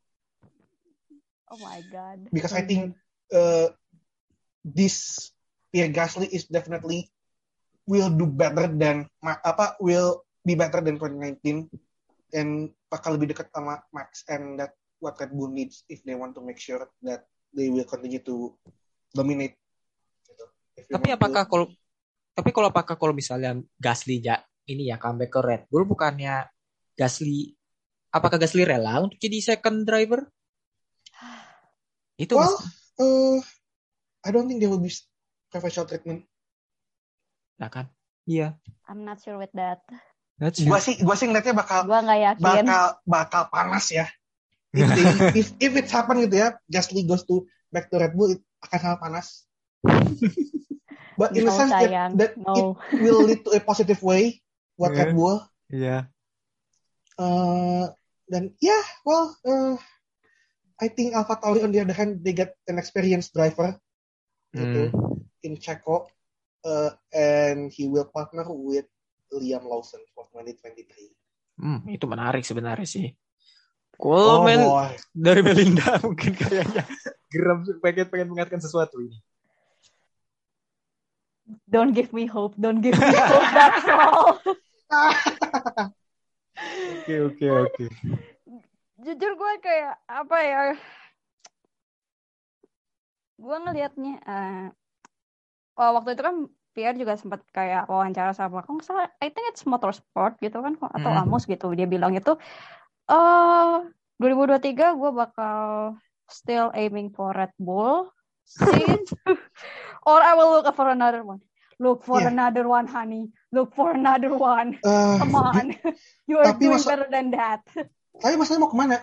Oh my god. Because I think uh, this Pierre Gasly is definitely will do better than Ma- apa will be better than twenty nineteen and bakal lebih dekat sama Max, and that what Red Bull needs if they want to make sure that they will continue to dominate. Gitu. If they Tapi want apakah to- kalau tapi kalau apakah kalau misalnya Gasly ya ini ya comeback ke Red Bull, bukannya Gasly apakah Gasly rela untuk jadi second driver? Itu well, uh, I don't think they will be preferential treatment. Nah kan? Iya. I'm not sure with that. That's Gua sih gua sih ngeliatnya bakal Gua nggak yakin. bakal bakal panas ya. If they, if if it happen gitu ya, Gasly goes to back to Red Bull, it akan sangat panas. But in No, a sense that, sayang. that No. it will lead to a positive way buat Yeah. Red Bull. Iya. Uh, dan ya, yeah, well, uh, I think AlphaTauri on the other hand, they get an experienced driver gitu Hmm. in Checo, uh, and he will partner with Liam Lawson for twenty twenty-three. Hmm, itu menarik sebenarnya sih. Oh Kalau Mel boy, dari Melinda mungkin kayaknya geram pengen pengen mengatakan sesuatu ini. Don't give me hope. Don't give me hope. That's all. Oke oke oke. Jujur gue kayak apa ya? Gue ngelihatnya, uh, oh, waktu itu kan Pierre juga sempat kayak wawancara sama, kok nggak salah, I think it's Motorsport gitu kan, atau Mm. Amos gitu. Dia bilang itu, eh dua ribu dua puluh tiga gue bakal still aiming for Red Bull, since, or I will look for another one. Look for Yeah. another one, honey. Look for another one. uh, Come on, you are Tapi doing masa- better than that. tapi masalahnya mau kemana?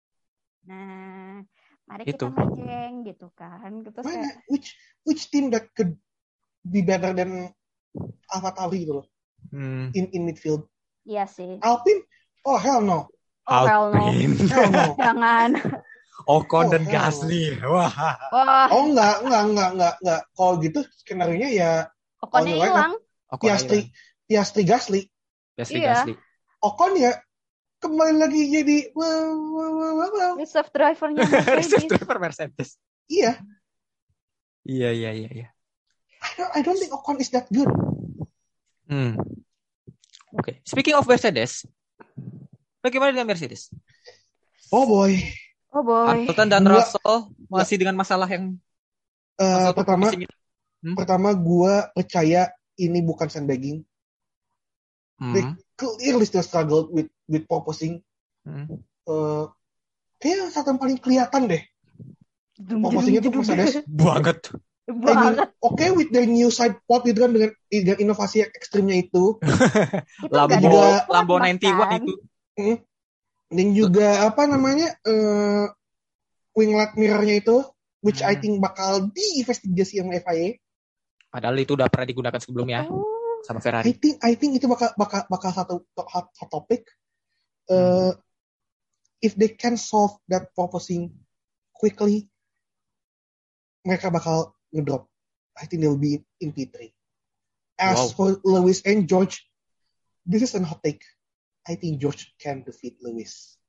Nah, mari Itu. kita majeng gitu kan. Terus Mana? kayak, Which which team that could be better than AlphaTauri gitu loh Hmm. in in midfield? iya sih. Alpine? Oh hell no, Oh, hell no. Alpine. hell no. Jangan. Ocon Oh, dan hell. Gasly. Wah. Wah, Oh enggak, enggak, enggak, enggak, enggak. Kalau gitu skenario-nya ya Okonnya Oh, hilang. Ocon Piastri, Piastri Gasly. Gasly Iya. Gasly. Ocon ya kembali lagi jadi wow, wow, wow, wow, wow. Reserve drivernya Reserve Mercedes. driver Mercedes. Iya, Iya iya iya iya. I don't, I don't think Ocon is that good. Hmm. Oke. Speaking of Mercedes, bagaimana dengan Mercedes? Oh boy. Oh boy. Hamilton dan Gua- Russell masih dengan masalah yang Eh, masalah pertama, pusing ini. Hmm? pertama gue percaya ini bukan sandbagging. They Hmm. clearly still struggled with with proposing. Hmm. Uh, kayak saat yang paling kelihatan deh proposingnya tuh Mercedes. Banget. I mean, Banget. oke with their new side pod gitu kan dengan, dengan inovasi yang ekstrimnya itu. Itu Lambo nggak juga- ada Lambo bahkan. sembilan puluh satu itu. Hmm. Dan juga apa namanya uh, winglet mirrornya itu, which I Hmm. think bakal diinvestigasi sama F I A. Padahal itu udah pernah digunakan sebelumnya Oh, sama I Ferrari. think I think itu bakal bakal bakal satu to- hot, hot topic. Uh, If they can solve that proposing quickly, mereka bakal ngedrop. I think they'll be in P three. As Wow. for Lewis and George, this is a hot take. I think George can defeat Lewis.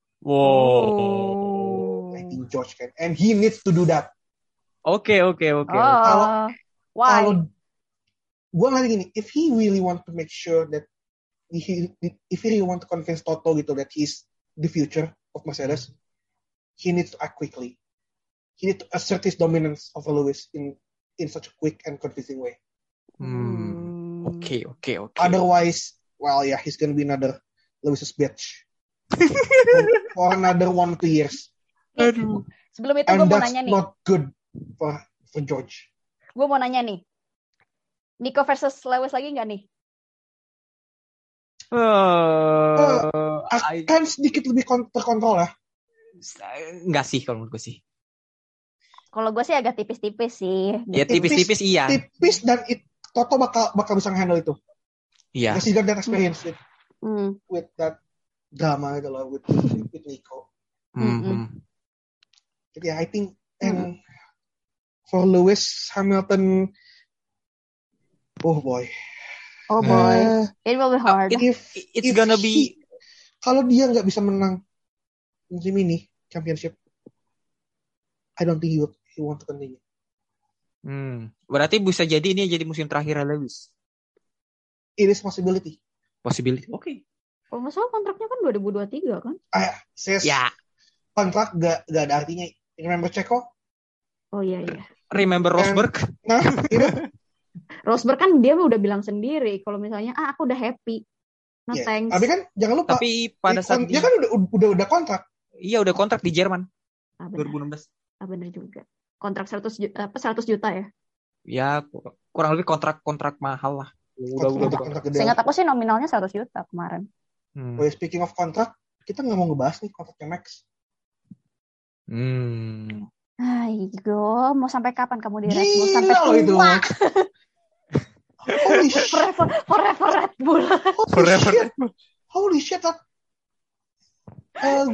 Wow. I think George can, and he needs to do that. Oke oke oke. Oh, Kalau- why? Kalau gue ngeliat gini, if he really want to make sure that he, if he really want to convince Toto gitu that he's the future of Mercedes, he needs to act quickly. He needs to assert his dominance over Lewis in in such a quick and convincing way. Hmm. Oke oke oke. Otherwise, well, yeah, he's gonna be another Lewis's bitch for another one two years, Aduh. Sebelum itu gue and mau that's nanya nih. not good for for George. Gue mau nanya nih. Nico versus Lewis lagi nggak nih? Uh, I- Kan sedikit lebih kon- terkontrol ya. Enggak sih kalau menurut gue sih. Kalau gue sih agak tipis-tipis sih. Ya tipis-tipis iya. Tipis dan it, Toto bakal bakal bisa handle itu. Iya. Because he got that experience with, Hmm. with that drama gitu loh, with, with Nico. Hmm. Jadi I think and for Lewis Hamilton, oh boy. Oh boy, Uh, it will be hard. if It's if gonna he- be kalau dia nggak bisa menang musim ini championship, I don't think he would he want to continue. Hmm. Berarti bisa jadi ini jadi musim terakhir Lewis. It is possibility. Possibility. Oke. Kalau nggak salah kontraknya kan dua ribu dua puluh tiga kan? Ah, says Ya. kontrak gak, gak ada artinya. Remember Checo? Oh iya iya. Remember Rosberg? Nah, itu Rosberg kan dia udah bilang sendiri kalau misalnya ah aku udah happy. No ya. thanks. Tapi kan jangan lupa Tapi pada di- saat dia kan udah udah udah kontrak. iya udah kontrak di Jerman ah, dua bener. ribu enam belas. Ah, bener juga. Kontrak seratus juta, apa seratus juta ya? ya kurang lebih kontrak-kontrak mahal lah. Udah udah kontrak udah. kontrak gede. Seingat aku sih nominalnya seratus juta kemarin. Hmm. Oh, speaking of kontrak, kita nggak mau ngebahas nih kontraknya Max. Hmm. Ayo, mau sampai kapan kamu di Red Bull? Sampai Gila loh itu. tua. Holy shit. Forever, forever Red Bull. Holy Forever. shit. Holy shit. that- Eh,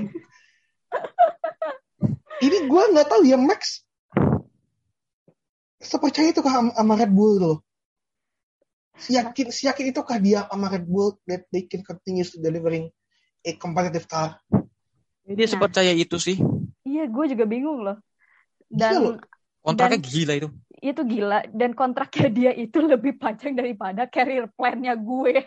ini gue nggak tahu ya Max sepercaya itu kah sama Red Bull gitu loh. Siyakin, siyakin itu kah dia sama Red Bull that they can continue to delivering a competitive car. Dia sepercaya itu sih. Iya, gue juga bingung loh. Gila loh. Dan Kontraknya Dan- gila itu. itu gila. Dan kontraknya dia itu lebih panjang daripada career plan-nya gue.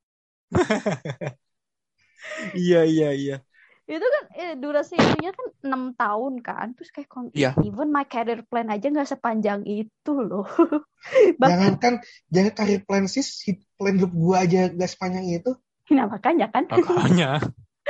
Iya iya iya. Itu kan eh, durasinya kan enam tahun kan. Terus kayak kon- Iya. even my career plan aja nggak sepanjang itu loh. Bahkan, Jangan kan, jangan karir plan sis, hit plan hidup gue aja gak sepanjang itu. nah makanya kan. Makanya.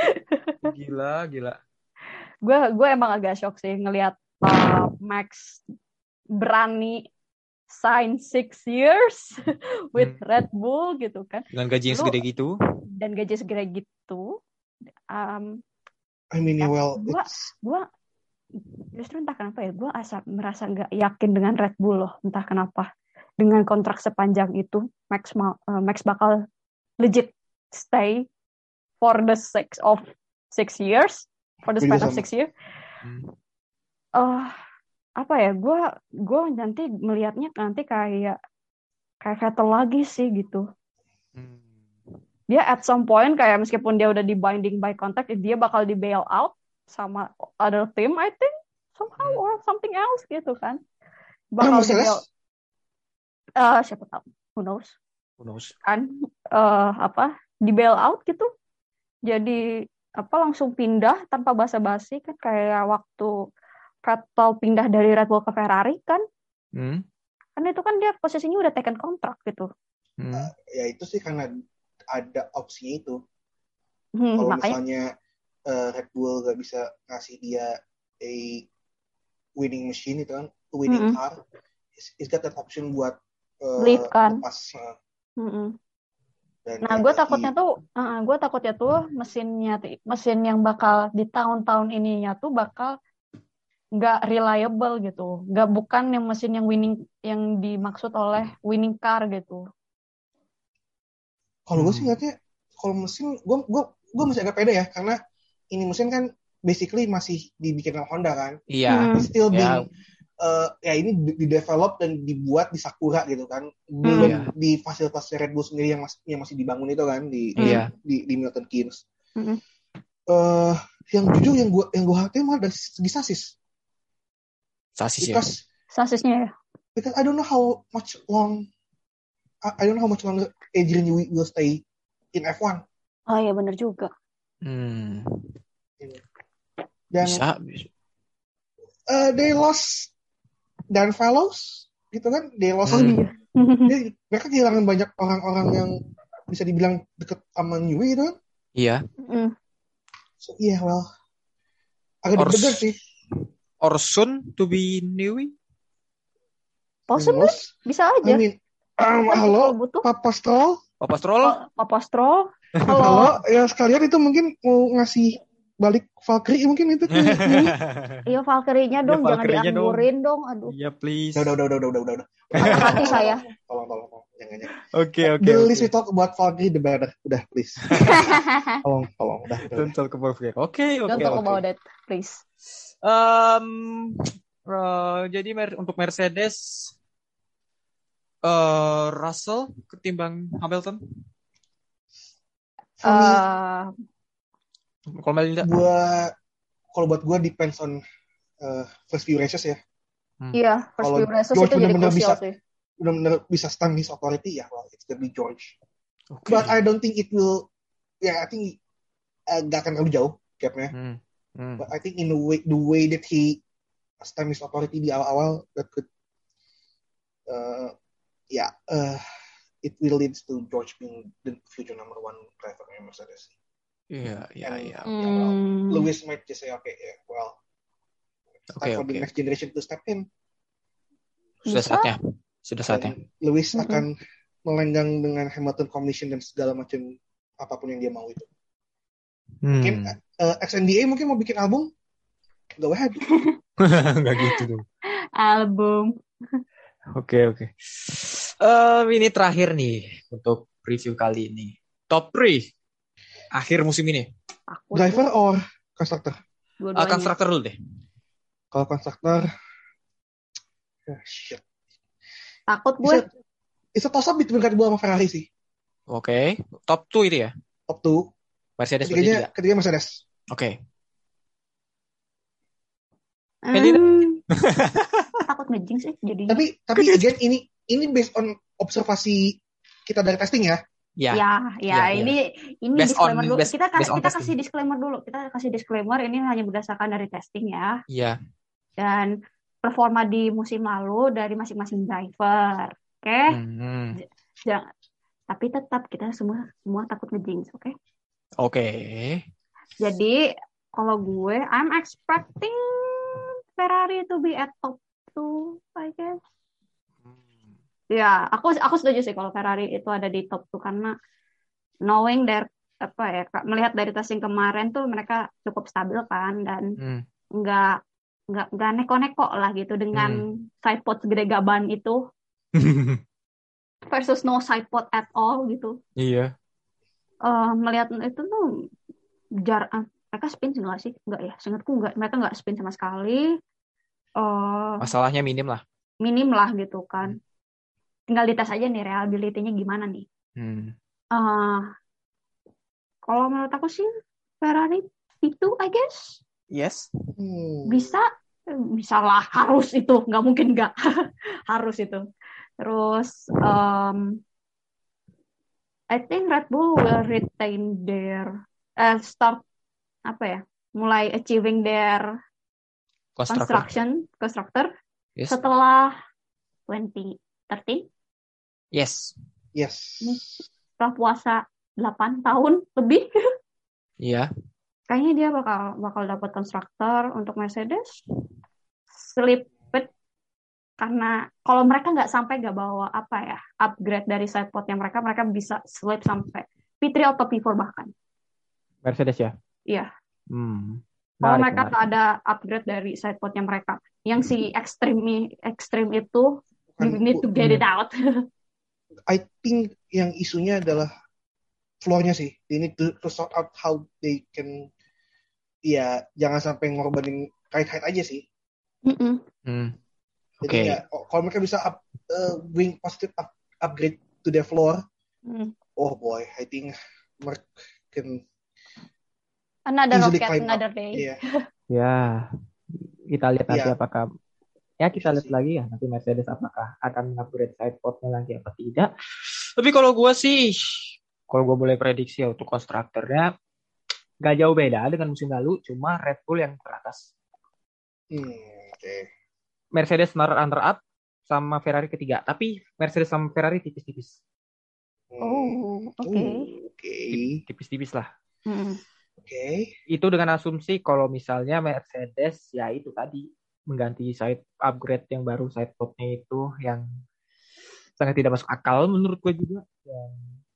Gila gila. gue gue emang agak shock sih ngelihat uh, Max berani sign six years with Hmm. Red Bull gitu kan, Dengan gaji yang Lu- segede gitu. dan gaji segede gitu. Um, I mean, Ya, well, gua- it's, gue justru entah kenapa ya gue asa merasa nggak yakin dengan Red Bull loh, entah kenapa. Dengan kontrak sepanjang itu Max ma- uh, Max bakal legit stay for the six of six years for the Gue span juga of sama. six years. Hmm. eh apa ya, gue gue nanti melihatnya nanti kayak kayak Vettel lagi sih gitu. Hmm. Dia at some point kayak meskipun dia udah di binding by contract, dia bakal di bail out sama other team I think somehow Hmm. or something else gitu kan. ah, Bakal di Mercedes, bail eh siapa tahu, who knows Who knows? kan, eh apa di bail out gitu. Jadi apa langsung pindah tanpa basa-basi kan, kayak waktu Vettel pindah dari Red Bull ke Ferrari kan. Hmm. Kan itu kan dia posisinya udah taken kontrak gitu. Hmm. ya itu sih karena ada opsinya itu. Hmm, Kalau makanya misalnya eh, Red Bull gak bisa ngasih dia a winning machine itu kan, a winning Mm-mm. car, it's, it's got that option buat eh, Leave kan. lepas. eh, mm-mm. dan Nah, ya gue lagi- takutnya tuh, uh, gue takutnya tuh mesinnya, mesin yang bakal di tahun-tahun ininya tuh bakal nggak reliable gitu, nggak bukan yang mesin yang winning, yang dimaksud oleh winning car gitu. Kalau gue Hmm. sih ngeliatnya, kalau mesin, gue gue gue masih agak pede ya, karena ini mesin kan basically masih dibikin sama Honda kan, Iya. Hmm. It's still Ya. being eh, ya ini di di develop dan dibuat di Sakura gitu kan, belum Iya. di fasilitas Red Bull sendiri yang masih yang masih dibangun itu kan di Iya. di, di Milton Keynes. Mm-mm. Eh, yang jujur yang gue yang gue hati malah dari segi sasis, Sasis ya. because Sasisnya ya. because I don't know how much long I, I don't know how much longer Adrian Newey will stay in F one. Oh iya bener juga. Hmm. Dan Bisa. bisa. eh, they lost Dan Fellows gitu kan, they lost Oh Hmm. iya. dia- mereka kehilangan banyak orang-orang yang bisa dibilang deket sama Newey gitu kan. Iya. Mm. So yeah, well, agak Or- deg-degan sih. Or soon to be Newey. Possible, Terus, bisa I aja. mean, um, Kan halo, kalau butuh. Papa Stroll, Papa Stroll. Pa- Papa Stroll. halo, Kalau ya sekalian itu mungkin mau ngasih balik Valkyrie mungkin itu. ke Newey. iya Valkyrie-nya Iya, dong, jangan Valkyrie-nya dong. dianggurin dong. Aduh, Iya please. Udah, udah, udah, udah, udah, udah, udah. patah hati saya. Tolong, tolong, tolong, jangan, jangan. Oke oke. The oke. least we talk about Valkyrie, the better. Udah, please. Tolong, tolong, udah, udah. Don't talk about Valkyrie. Oke oke. Don't talk oke. about that, please. Um, eh, jadi mer- untuk Mercedes, eh Russell ketimbang Hamilton. For me, Eh, Kalau Melinda. gua, kalau buat gue depends on uh, first few races ya. Iya, first Kalau few races George itu jadi benar-benar krusial bisa- sih. Benar-benar bisa stand his authority ya, well, it's gonna be George. Oke. But I don't think it will. Ya, I think uh, gak akan terlalu jauh gapnya. Hmm. Hmm. But I think in the way the way that he stand his authority di awal-awal, that could, uh, ya, yeah, uh, it will lead to George being the future number one driver in Mercedes. Iya iya And, iya. ya, well, Hmm. Lewis might just say, okay, yeah, well, it's Oke time for oke. the next generation to step in. Sudah Bisa. saatnya. Sudah saatnya. Dan Lewis Mm-mm. akan melenggang dengan Hamilton Combination dan segala macam apapun yang dia mau itu. Mungkin Hmm. uh, X N D A mungkin mau bikin album, go ahead. Nggak gitu dong. Album. Oke, oke. Eh, ini terakhir nih untuk review kali ini. Top tiga akhir musim ini. Takut. Driver or konstruktor? Uh, Dua-duanya. konstruktor dulu deh. Kalau konstruktor, ah, shit. Takut gue. It's a toss up between Red Bull sama Ferrari sih. Oke. Top dua itu ya. Top two. Mercedes berarti Ketiganya, tidak. ketiga Mercedes. Oke. Hmm, Melina. takut ngejing sih jadinya. Tapi tapi again ini ini based on observasi kita dari testing ya. Ya. Ya, ya, Ya, ya. ini ini Based disclaimer on- dulu. based- kita based on kita testing. kasih disclaimer dulu. Kita kasih disclaimer ini hanya berdasarkan dari testing ya. Iya. Dan performa di musim lalu dari masing-masing driver. Oke? Hmm. Jangan- Tapi tetap kita semua semua takut ngejinx, oke? Oke. Jadi kalau gue I'm expecting Ferrari to be at top two, I guess. Ya, aku aku setuju sih kalau Ferrari itu ada di top two karena knowing their apa ya, Kak, melihat dari testing kemarin tuh mereka cukup stabil kan dan Hmm. nggak nggak nggak neko-neko lah gitu dengan sidepod segede gaban itu versus no sidepod at all gitu. Iya. Eh, melihat itu tuh jar ah, mereka spin sih nggak sih? Nggak ya, seingatku nggak, mereka nggak spin sama sekali. Eh, Masalahnya minim lah. minim lah gitu kan. Tinggal dites aja nih reliability-nya gimana nih. Hmm. Eh, kalau menurut aku sih Ferrari itu I guess Yes. Hmm. bisa bisa lah, harus itu, nggak mungkin nggak. Harus itu. Terus um, I think Red Bull will retain their uh, start apa ya, mulai achieving their Konstruktor. construction constructor Yes. setelah twenty thirteen, Yes. Yes. setelah puasa delapan tahun lebih. Iya. Kayaknya dia bakal bakal dapat konstruktor untuk Mercedes. Slip it. Karena kalau mereka nggak sampai nggak bawa apa ya upgrade dari sidepodnya mereka, mereka bisa slip sampai P tiga atau P empat bahkan. Mercedes ya. Iya. Hmm. Kalau Menarik, mereka menarik. ada upgrade dari sidepodnya mereka, yang si extreme extreme itu, you Bukan- need to get it out. I think yang isunya adalah floor-nya sih. They need to, to sort out how they can, ya jangan sampai ngorbanin height-height aja sih. Mm-mm. Hmm. Jadi Oke. ya, oh, kalau mereka bisa up, uh, bring positive up, upgrade to their floor, Mm. oh boy, I think Mark can Another easily rocket, climb up. another day. Iya. Ya, kita lihat nanti Iya. apakah ya kita Bisa lihat sih. lagi ya nanti Mercedes apakah akan upgrade sidepodnya lagi apa tidak. Tapi kalau gue sih, kalau gue boleh prediksi ya untuk konstruktornya, Gak jauh beda dengan musim lalu, cuma Red Bull yang teratas. Hmm, oke. Mercedes runner up sama Ferrari ketiga. Tapi Mercedes sama Ferrari tipis-tipis. Hmm. Oh, oke. Uh, Oke. Tipis-tipis lah. Mm. Oke. Itu dengan asumsi kalau misalnya Mercedes ya itu tadi mengganti side upgrade yang baru sidepodnya itu yang sangat tidak masuk akal menurut gue juga. Dan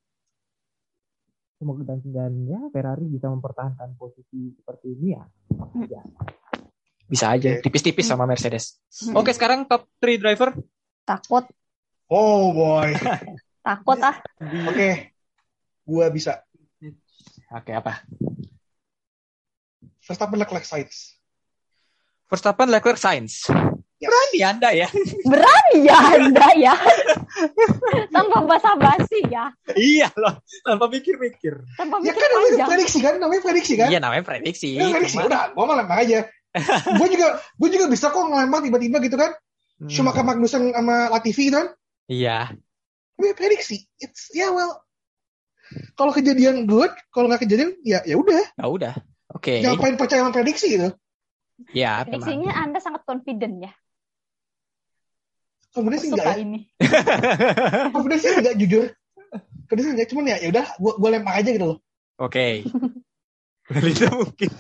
semoga dan, dan ya Ferrari bisa mempertahankan posisi seperti ini ya. Ya, Bisa aja Oke. tipis-tipis sama Mercedes. Hmm. Oke, sekarang top tiga driver. Takut, Oh boy. takut ah. Oke. Gua bisa. Oke, apa? Verstappen Leclerc Sainz. Verstappen, Leclerc, Sainz. Yes. Berani Anda ya? Iya, Anda ya. Tanpa basa-basi ya. Iya loh, tanpa mikir-mikir. Tanpa Ya mikir kan namanya panjang. prediksi kan, namanya prediksi kan. Iya, namanya prediksi. Ya, prediksi. Cuma- Udah, gua mah lempar aja. Gue juga, gue juga bisa kok ngelempar tiba-tiba gitu kan. Hmm. Schumacher, Magnussen sama Latifi gitu kan. Iya. Namanya prediksi. It's ya yeah, well. Kalau kejadian good, kalau nggak kejadian ya ya udah. Ya udah. Oke. Ngapain percaya sama prediksi gitu? Ya, memang. Prediksinya Anda sangat confident ya. Kemudian sih Suka enggak ya. ini. Kemudian sih enggak jujur. Kemudian sih enggak, cuman ya ya udah gua gua lempar aja gitu loh. Oke. Itu mungkin.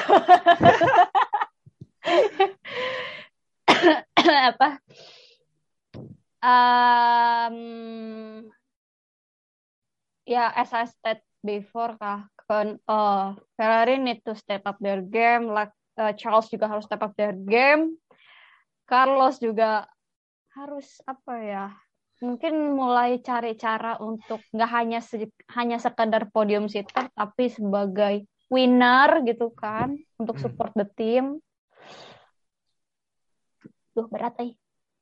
Takut. Apa? as I said before kah, kan uh, Ferrari need to step up their game, like uh, Charles juga harus step up their game, Carlos juga harus apa ya? Mungkin mulai cari cara untuk nggak hanya se- hanya sekedar podium sitter, tapi sebagai winner gitu kan, untuk Hmm. support the team. Duh berat eh.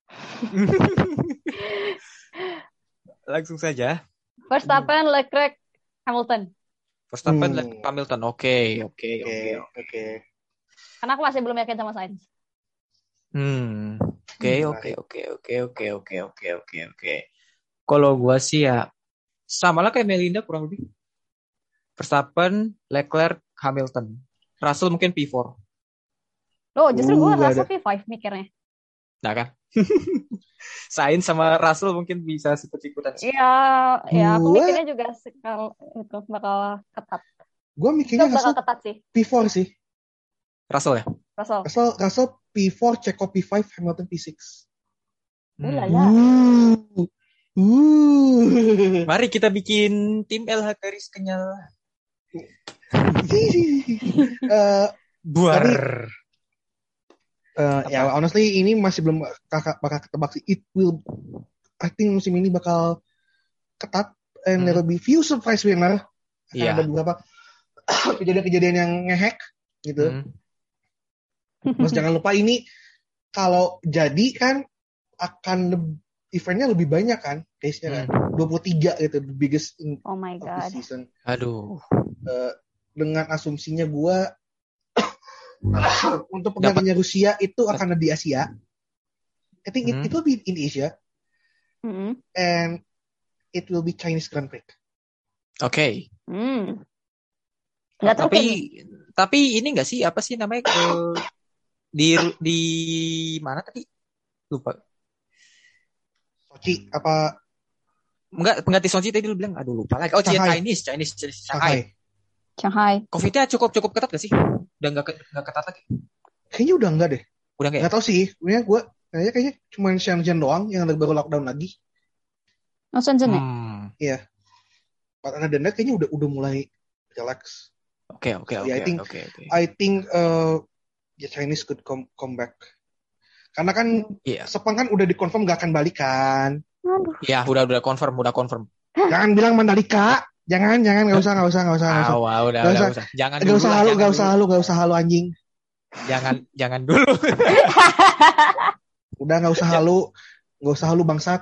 Langsung saja. Verstappen, Leclerc, Hamilton. Verstappen, Hmm. Leclerc, Hamilton. Oke, oke, Oke, oke. oke. Karena aku masih belum yakin sama Sainz. Hmm. Oke, Hmm, oke, oke, oke, oke, oke, oke, oke, oke. Kalau gua sih ya sama lah kayak Melinda kurang lebih. Verstappen, Leclerc, Hamilton. Russell mungkin P empat. Loh, justru gue Uh, gak rasa ada. P lima mikirnya. Nah kan? Sainz sama Russell mungkin bisa ikut-ikutan. Iya, ya aku Gua- mikirnya juga sekal itu bakal ketat. Gue Itu mikirnya bakal Russell ketat sih, P empat sih. Russell ya? Russell. Russell, Russell P empat, Checo P lima, Hamilton P enam. Uh, Hmm. lala. Uh. Uh. Mari kita bikin tim L H Garis Kenyal. Eh, Buar. eh, ya honestly ini masih belum kakak bakal ketebak sih. It will, I think musim ini bakal ketat and Hmm. there will be few surprise winner. Akan Iya. ada beberapa kejadian-kejadian yang ngehack gitu. Hmm. Terus jangan lupa ini kalau jadi kan akan le- eventnya lebih banyak kan, case-nya kan. Hmm. dua puluh tiga gitu, the biggest in Oh my of the god. season. Aduh. Eh, dengan asumsinya gua untuk penggantinya Rusia itu akan ada di Asia. I think it, Hmm. it will be in Asia Mm-mm. and it will be Chinese Grand Prix. Oke. Hmm. Nggak tahu Tapi kayak- tapi ini enggak sih apa sih namanya eh, di di mana tadi? Lupa. Sochi apa Enggak, pengganti Sochi tadi lu bilang aduh lupa lagi. Oh, Shanghai. Chinese, Chinese, Chinese, Shanghai. Shanghai? Shanghai. Covid-nya cukup cukup ketat gak sih? Udah enggak ke- enggak ketat lagi. Kayaknya udah enggak deh. Udah enggak ya? Enggak tahu sih. Kayaknya gua kayaknya kayaknya cuma Shenzhen doang yang baru lockdown lagi. Oh, Shenzhen ya? Hmm. But other than that, kayaknya udah udah mulai relax. Oke, oke, So, oke, yeah, I think- oke, oke. I think uh, the Chinese could come come back. Karena kan Iya. Sepang kan udah dikonfirm gak akan balikan. Aduh. Ya, udah udah confirm, udah confirm. Jangan bilang Mandalika. Jangan, jangan, nggak usah, nggak usah, nggak usah, nggak usah. Ah, wah, udah, Nggak udah, usah. usah. Jangan Nggak dulu usah lah, halu, jangan nggak usah dulu. halu, nggak usah halu anjing. Jangan jangan dulu. Udah nggak usah halu, nggak usah halu bangsat.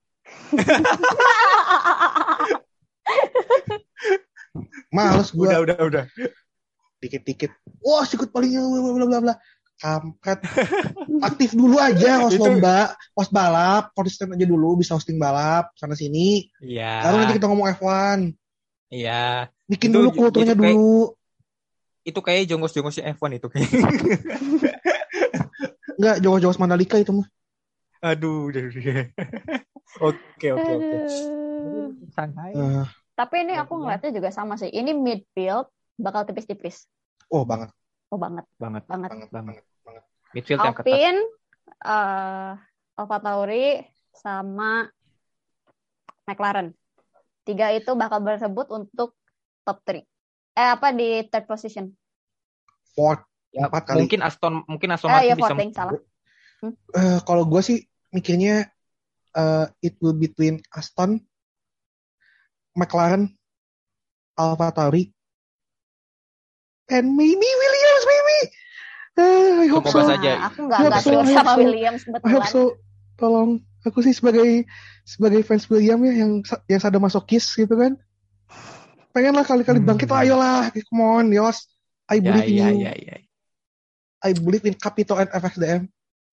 Males gue Udah, udah, udah. dikit-dikit. Wah, sikut palingnya bla bla bla bla. Kampret. Aktif dulu aja host Itu- lomba, host balap, konsisten aja dulu bisa hosting balap sana sini. Iya. Baru nanti kita ngomong F satu. Iya. Bikin Itu- dulu kulturnya itu kayak- dulu. Itu kayak jongos-jongosnya F satu itu kayak. Enggak, jongos-jongos Mandalika itu mah. Aduh, udah, udah. Oke, oke, oke. Aduh. Shanghai. Eh, Tapi ini aku Berarti ngeliatnya juga sama sih. Ini midfield bakal tipis-tipis. oh banget, Oh banget, Banget, banget. banget, Banget. banget, banget. midfield yang ketat. Alpine, uh, Alfa Tauri, sama McLaren. Tiga itu bakal berebut untuk top three. Eh apa di third position? Ford Ya, empat kali. mungkin Aston mungkin Aston Eh Martin ya bisa Ford yang salah. Eh, kalau gue sih mikirnya eh, it will between Aston, McLaren, Alfa Tauri, and maybe Williams, maybe. Eh, I hope Semoga so. saja. Nah, aku nggak I hope nggak so, sure I hope sama so. Williams I hope kebetulan. so. Tolong, aku sih sebagai sebagai fans William ya yang yang sadomasokis gitu kan. Pengen lah kali-kali Hmm. bangkit lah, ayolah, come on, Yos. I Ya, believe in ya, you. ya, ya. I believe in Capito and F X D M.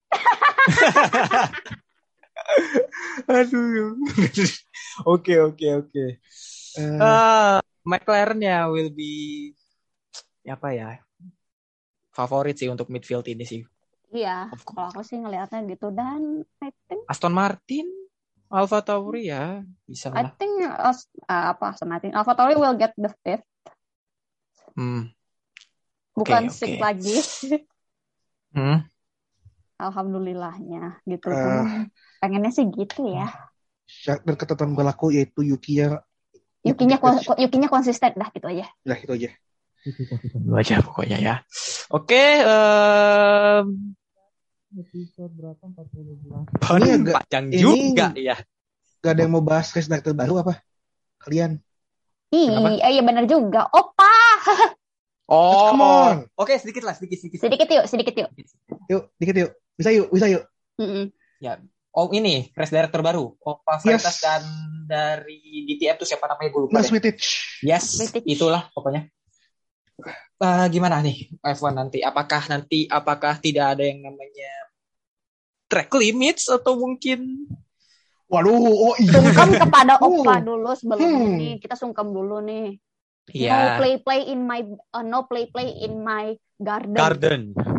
Aduh. Oke, oke, oke. Eh, Ah, McLaren ya will be apa ya? Favorit sih untuk midfield ini sih. Iya, Of kalau course. aku sih ngelihatnya gitu. Dan I think Aston Martin, Alfa Tauri ya bisa I lah. think uh, apa sama Martin Alfa Tauri will get the fifth. Hmm. Bukan Oke, six oke. lagi. Hmm. Alhamdulillahnya gitu. Eh. Pengennya sih gitu ya. syarat dan ketentuan berlaku yaitu Yukiya Yukinya kon- Yukinya konsisten dah gitu aja. Udah itu aja. Itu konsisten. Itu aja pokoknya ya. Oke, em, Episode berapa? empat puluh delapan. baru Ini agak- panjang ini- juga ya. Gak ada yang mau bahas race director baru apa? Kalian? Kenapa? Iya, iya benar juga. Opa. Oh, Come on. oke sedikit lah, sedikit sedikit. Sedikit yuk, sedikit yuk. Yuk, dikit yuk. Bisa yuk, bisa yuk. Mm-mm. Oh ini, race director baru. Opa Freitas Yes. dan dari D T M tuh siapa namanya gue lupa Mas deh. Wittich. Yes, Wittich. itulah pokoknya. Eh, gimana nih F satu nanti? Apakah nanti apakah tidak ada yang namanya track limits atau mungkin Waduh, oh iya. Sungkem kepada Oh. Opa dulu sebelum Hmm. ini. Kita sungkem dulu nih. No ya play play in my uh, no play play in my garden. garden?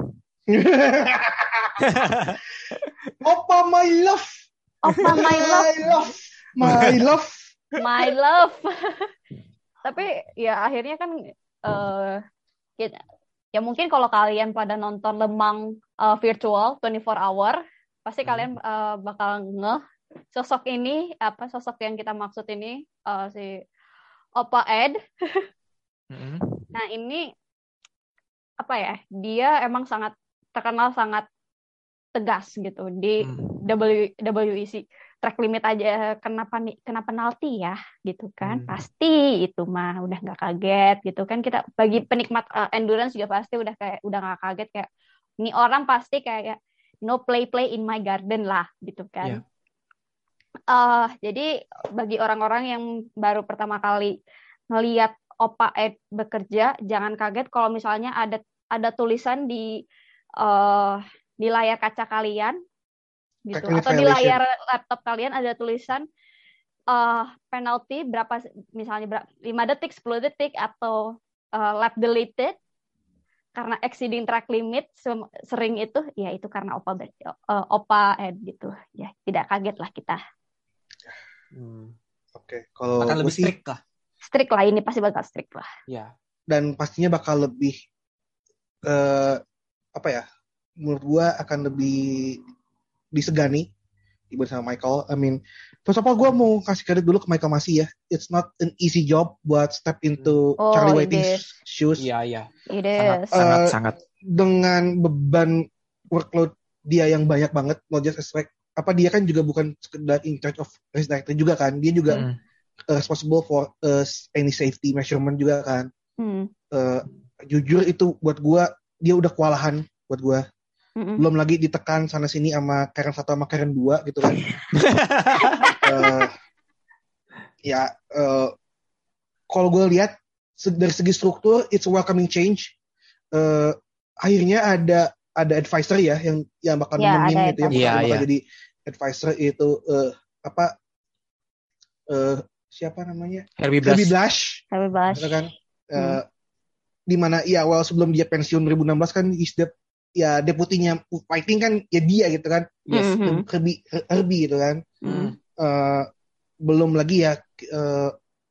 Opa my love. Opa my love, My love. My love. my love. Tapi ya akhirnya kan eh kita, ya mungkin kalau kalian pada nonton Lemang eh, virtual dua puluh empat hour, pasti Hmm. kalian eh, bakal ngeh sosok ini apa sosok yang kita maksud ini eh, si Opa Ed. Mm-mm. Nah ini apa ya? Dia emang sangat terkenal sangat tegas gitu di Hmm. W W E C. Track limit aja kenapa nih kena penalti ya gitu kan? Hmm. Pasti itu mah udah nggak kaget gitu kan, kita bagi penikmat uh, endurance juga pasti udah kayak udah nggak kaget kayak ini orang pasti kayak no play play in my garden lah gitu kan. Iya. Eh, jadi bagi orang-orang yang baru pertama kali ngelihat Opa Ed bekerja, jangan kaget kalau misalnya ada ada tulisan di eh, di layar kaca kalian gitu, Track limit atau di violation. layar laptop kalian ada tulisan eh penalti berapa, misalnya berapa, lima detik, sepuluh detik, atau eh, lap deleted karena exceeding track limit sem- sering itu, ya itu karena Opa ber- eh, Opa Ed gitu. Ya, tidak kaget lah kita. Hmm. Oke, kalau Akan gue lebih sih strict lah. Strict lah, ini pasti bakal strict lah. Ya. dan pastinya bakal lebih eh apa ya? Menurut gue akan lebih disegani dibanding sama Michael. I mean, first of all gue mau kasih kredit dulu ke Michael Masi ya. It's not an easy job buat step into Oh, Charlie it Whiting's is. shoes. Iya, iya. It Sangat, is. sangat, Eh, sangat. Dengan beban workload dia yang banyak banget, not just aspect apa dia kan juga bukan sekedar in charge of race director juga kan, dia juga Mm. uh, responsible for uh, any safety measurement juga kan. Hmm. Uh, jujur itu buat gua dia udah kewalahan buat gua. Mm-mm. Belum lagi ditekan sana sini sama Karen satu sama Karen dua gitu kan. uh, ya uh, kalau gue lihat se- dari segi struktur it's a welcoming change. Uh, akhirnya ada ada advisor ya yang yang bakal Ya, nemenin ada gitu yang bakal, advisor. bakal Iya, iya. jadi advisor itu uh, apa uh, siapa namanya Herbie Blas. Herbie Blash Tapi bahas. gitu kan. Hmm. Uh, di mana ya well sebelum dia pensiun dua ribu enam belas kan is the, ya deputinya fighting kan ya dia gitu kan. Yes. Mhm. Herbie Herbie gitu kan. Hmm. Uh, belum lagi ya uh,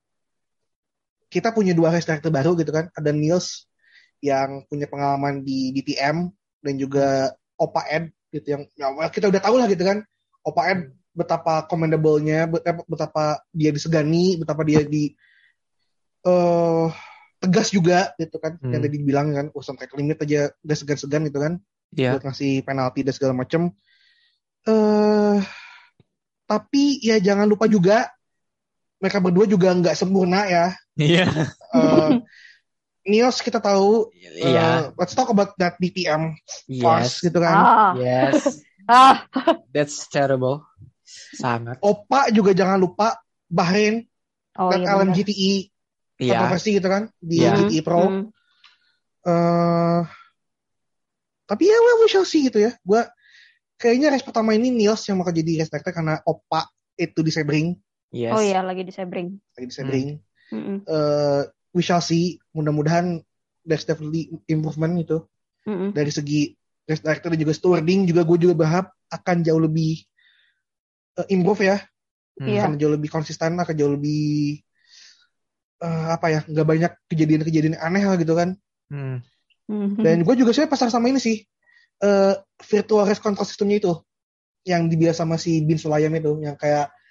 kita punya dua race director baru gitu kan, ada Niels yang punya pengalaman di D T M dan juga Opa Ed gitu yang ya, well, kita udah tahu lah gitu kan Opa Ed betapa commendable-nya, betapa, betapa dia disegani, betapa dia di uh, tegas juga gitu kan, Hmm. yang tadi dibilang kan urusan track limit aja udah segan-segan gitu kan Iya. buat ngasih penalti dan segala macem. Eh, tapi ya jangan lupa juga mereka berdua juga nggak sempurna ya. Iya. Eh, Niels kita tahu. Iya. eh, let's talk about that D T M Yes. fast gitu kan. Ah. Yes. Ah. That's terrible. Sangat. Opa juga jangan lupa Bahrain Oh dan iya L M benar. G T E Iya. kontroversi gitu kan di Iya. G T E Pro. Hmm. Eh, tapi ya well, we shall see gitu ya. Gua kayaknya race pertama ini Niels yang bakal jadi race director karena Opa itu di Sebring, Yes. Oh iya, lagi di Sebring. lagi di Sebring. Mm-mm. Eh, we shall see. Mudah-mudahan there's definitely improvement gitu Mm-mm. dari segi race director dan juga stewarding juga gue juga berharap akan jauh lebih uh, improve ya, Hmm. Iya. akan jauh lebih konsisten, akan jauh lebih uh, apa ya, nggak banyak kejadian-kejadian aneh lah gitu kan. Hmm. Mhm. Dan gue juga sebenarnya pasar sama ini sih uh, virtual race control systemnya itu yang dibiasa sama si Bin Sulayam itu yang kayak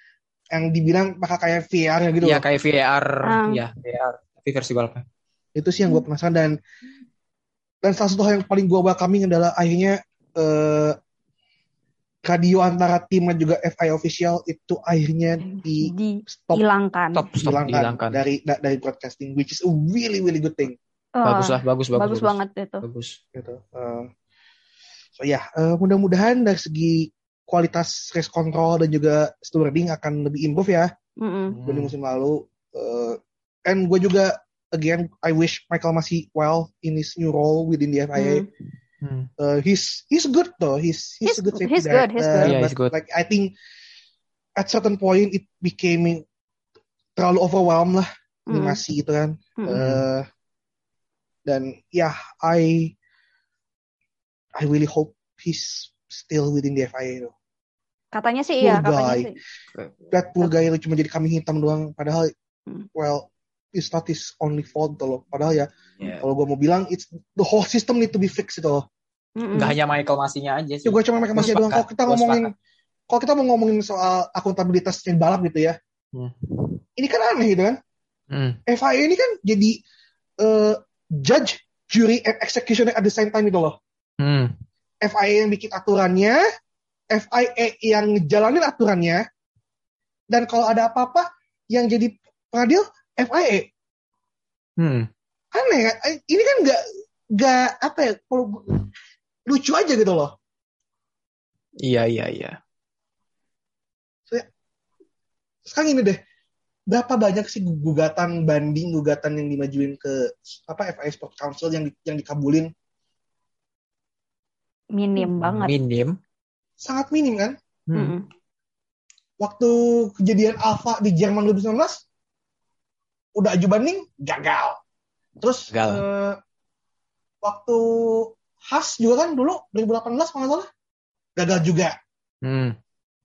yang dibilang bakal kayak V R gitu Iya loh. kayak V R, Ah. ya V R tapi versi balapnya. Itu sih yang gue penasaran, dan dan salah satu hal yang paling gue welcoming adalah akhirnya eh, radio antara tim dan juga F I A official itu akhirnya di stop Dihilangkan. Stop, stop, dihilangkan dihilangkan. dari da- dari broadcasting, which is a really really good thing Bagus Oh, lah, bagus, bagus, bagus banget itu. Bagus. gitu. Eh, so ya, uh, mudah-mudahan dari segi kualitas race control dan juga stewarding akan lebih improve ya Mm-mm. dibanding musim lalu. Uh, and gue juga again I wish Michael masih well in his new role within the F I A. Mm. Hmm. Uh, he's he's good though. He's he's, He's- a good safety he's good, he's director, good. Yeah, but he's good. like I think at certain point it became terlalu overwhelmed lah Mm. animasi itu kan. Mm-mm. Uh, dan ya yeah, I I really hope he's still within the F I A though. Katanya sih Poor iya, katanya guy. sih. That poor guy lu cuma jadi kambing hitam doang, padahal Hmm. well it's not his only fault tuh loh. Padahal ya Yeah. kalau gue mau bilang it's the whole system need to be fixed itu loh. Mm-mm. Nggak hanya Michael Masinya aja sih. Ya gue cuma mereka masih Gua doang. Kalau sepakat, kita gua ngomongin sepakat. kalau kita mau ngomongin soal akuntabilitas tim balap gitu ya, Hmm. ini kan aneh gitu kan. Hmm. F I A ini kan jadi uh, judge, jury, and executioner at the same time itu loh. Hmm. F I A yang bikin aturannya, F I A yang ngejalanin aturannya, dan kalau ada apa-apa yang jadi pengadil F I A. Hmm. Aneh kan? Ini kan nggak nggak apa ya? Kalau lucu aja gitu loh. Iya, iya, iya. Sekarang ini deh, berapa banyak sih gugatan banding, gugatan yang dimajuin ke apa F I A Sport Council yang di- yang dikabulin? Minim banget. Minim. Sangat minim kan? Hmm. Mm-mm. Waktu kejadian Alfa di Jerman dua ribu sembilan belas, udah aju banding, gagal. Terus Gagal. eh, waktu Haas juga kan dulu dua ribu delapan belas kalau nggak salah, gagal juga. Hmm.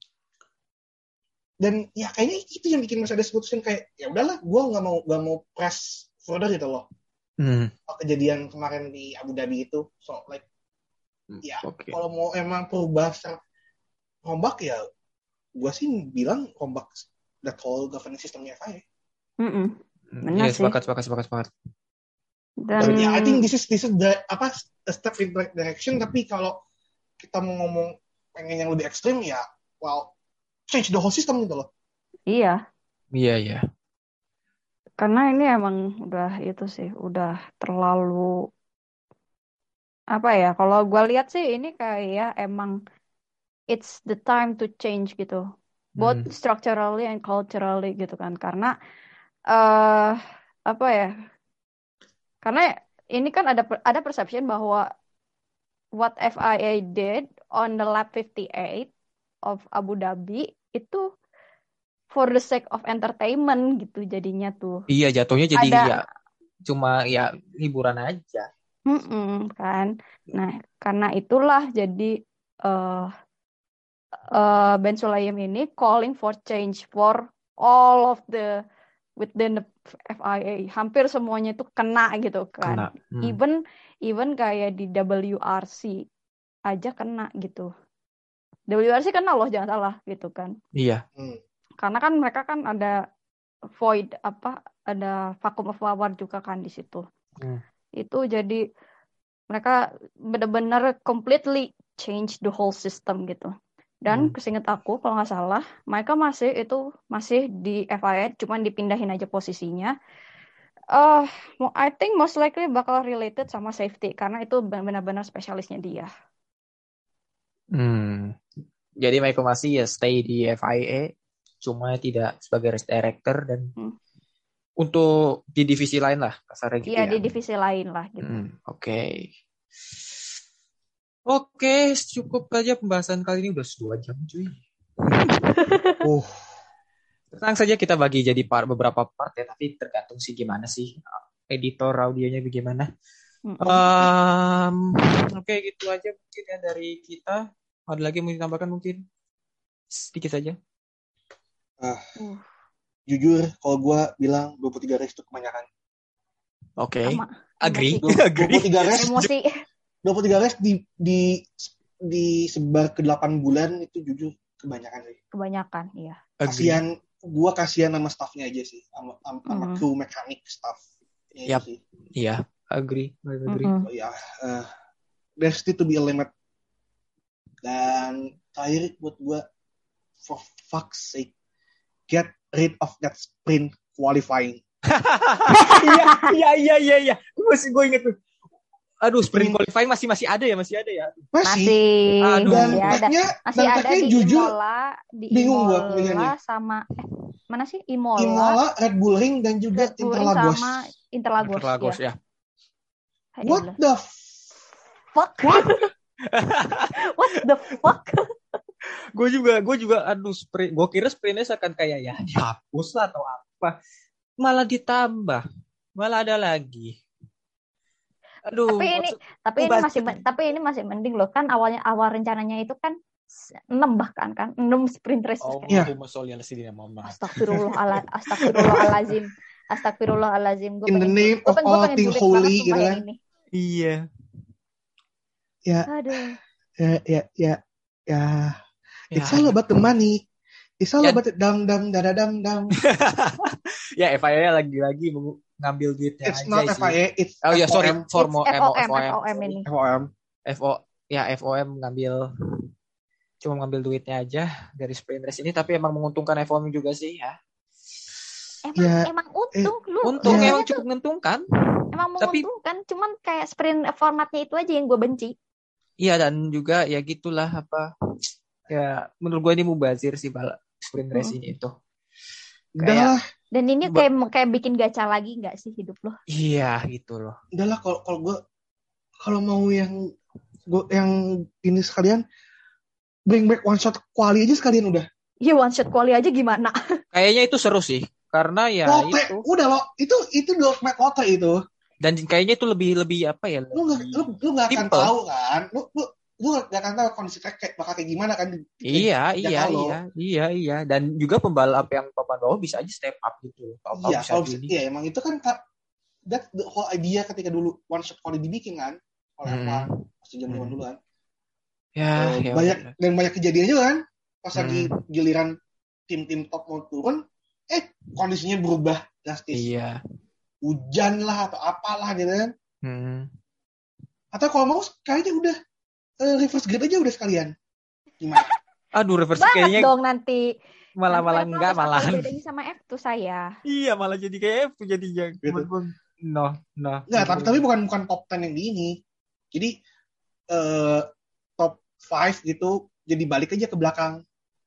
Dan ya kayaknya itu yang bikin Mercedes putusin kayak ya udahlah, gue nggak mau nggak mau press further gitu loh. Hmm. Kejadian kemarin di Abu Dhabi itu, so like ya Oke. kalau mau emang perubahan secara rombak ya, gue sih bilang rombak that whole governance systemnya F I A. Mm-mm. Benar Iya, sih. sepakat, sepakat, sepakat, sepakat. Dan Dan ya I think this is this is the apa a step in the right direction, tapi kalau kita mau ngomong pengen yang lebih ekstrim ya well change the whole system gitu loh. iya, Iya, iya. karena ini emang udah itu sih, udah terlalu apa ya? Kalau gue lihat sih ini kayak emang it's the time to change gitu, both Hmm. structurally and culturally gitu kan. Karena eh apa ya? Karena ini kan ada per- ada perception bahwa what F I A did on the lap fifty-eight of Abu Dhabi itu for the sake of entertainment gitu jadinya tuh. Iya, jatuhnya jadi Ada- ya cuma ya hiburan aja. Mm-mm, kan. Nah, karena itulah jadi eh eh, Ben Sulayem ini calling for change for all of the within the F I A. Hampir semuanya itu kena gitu kan. Kena. Hmm. Even even kayak di W R C aja kena gitu. W R C kena loh, jangan salah gitu kan. Iya. Hmm. Karena kan mereka kan ada void apa ada vacuum of power juga kan di situ. Hmm. Itu jadi mereka benar-benar completely change the whole system gitu. Dan Hmm. kesinget aku kalau nggak salah, mereka masih itu masih di F I A, cuman dipindahin aja posisinya. Eh, mo- I think most likely bakal related sama safety karena itu benar-benar spesialisnya dia. Hmm. Jadi Michael Masi ya stay di F I A, cuma tidak sebagai race director dan Hmm. untuk di divisi lain lah kasarnya gitu Iya, ya. di divisi lain lah gitu. Hmm, Oke. Oke, cukup aja pembahasan kali ini udah dua jam cuy. Uh, Tenang saja kita bagi jadi part, beberapa part ya, tapi tergantung sih gimana sih editor audionya bagaimana. Mm-mm. Um, Oke, gitu aja mungkin ya dari kita. Ada lagi mau ditambahkan mungkin? Sedikit saja. ah, Uh, jujur kalau gue bilang dua puluh tiga race itu kebanyakan. Oke. sama Agree. emosi. Agree. dua puluh tiga race, Emosi. dua puluh tiga race di di disebar ke delapan bulan itu jujur kebanyakan sih. Kebanyakan, iya. Agree. Kasihan gue kasihan sama staffnya aja sih, sama, sama Mm-hmm. crew mekanik staffnya Yap. aja sih. Iya, agree, agree. Mm-mm. Oh, ya, uh, there still to be a limit. Dan terakhir buat gue, for fuck's sake, get rid of that sprint qualifying. Iya, iya, iya, iya, iya. Gue masih gue inget tuh. Aduh, sprint qualifying masih masih ada ya, masih ada ya. Masih. Masih, Aduh. Dan masih ada, tagnya, masih dan ada tagnya di jujur, Imola, di bingung gua Imola pilihannya. sama eh, mana sih Imola, Imola, Red Bull Ring, dan juga Red Bull Ring Interlagos. sama Interlagos, Interlagos ya. ya. Hai What Allah. the Fuck? What the fuck? Gue juga, gue juga, aduh, sprint. Gue kira sprintnya akan kayak ya dihapus lah atau apa. Malah ditambah, malah ada lagi. Aduh. Tapi ini, maksud- tapi ini baca. masih, tapi ini masih mending loh, kan awalnya awal rencananya itu kan enam bahkan kan enam sprint race. Oh, Iya. Allahumma sholli ala sayyidina Muhammad. Astagfirullah, astagfirullahalazim, astagfirullahalazim. Gue In the pengen, name gue of pengen, gue all pengen thing julid holy, banget gitu sumpah kan. yang ini. Iya. Ya, Aduh. ya, ya, ya, ya. Ya, It's all about the money. It's all Ya. about the dang dang dada dang dang. ya F I A lagi-lagi mau ngambil duitnya It's aja not sih. F I A, it's Oh ya, sorry, F O M. formo It's F O M, F O M. F O M ini. F O M. F O ya F O M ngambil cuma ngambil duitnya aja dari sprint race ini, tapi emang menguntungkan F O M juga sih ya. Emang, Ya, emang untung lu. Untung Ya. emang cukup menguntungkan. Emang Tapi- menguntungkan, cuman kayak sprint formatnya itu aja yang gue benci. Iya, dan juga ya gitulah apa ya, menurut gue ini mubazir sih bala sprint race ini itu. Udah Kayak lah, Dan ini Ba- kayak kayak bikin gacha lagi nggak sih hidup lo? iya gitu loh. udah lah kalau kalau gue kalau mau yang gue yang ini sekalian bring back one shot quali aja sekalian udah. Iya, one shot quali aja gimana? Kayaknya itu seru sih karena ya Lotre, itu, udah lo, itu itu the ultimate lotre itu. dan kayaknya itu lebih lebih apa ya? Lu nggak lu lu nggak akan Simple. tahu kan, lu lu lu nggak akan tahu kondisi track kayak bakal kayak gimana kan. Iya, Ya iya, kalau- iya, iya, iya, dan juga pembalap yang papan bawah bisa aja step up gitu. Tahu-tahu Iya, bisa kalau gini. iya emang itu kan ka- that the whole idea ketika dulu one shot quali dibikin kan oleh Hmm. apa pasti zaman Hmm. dulu kan. Ya, Eh, ya banyak udah. dan banyak kejadian juga kan pas Hmm. lagi giliran tim-tim top mau turun, eh kondisinya berubah drastis. Iya. Hujan lah atau apalah gitu kan. Hmm. Atau kalau mau kayaknya udah eh, reverse grid aja udah sekalian. Gimana? Aduh, reverse Banget kayaknya dong nanti. malah malah Nanti enggak apa malahan. bedanya sama F tuh saya. Iya, malah jadi kayak F jadinya. Gitu. No, no. Enggak, tapi tapi bukan bukan top sepuluh yang di ini. Jadi eh top lima gitu jadi balik aja ke belakang.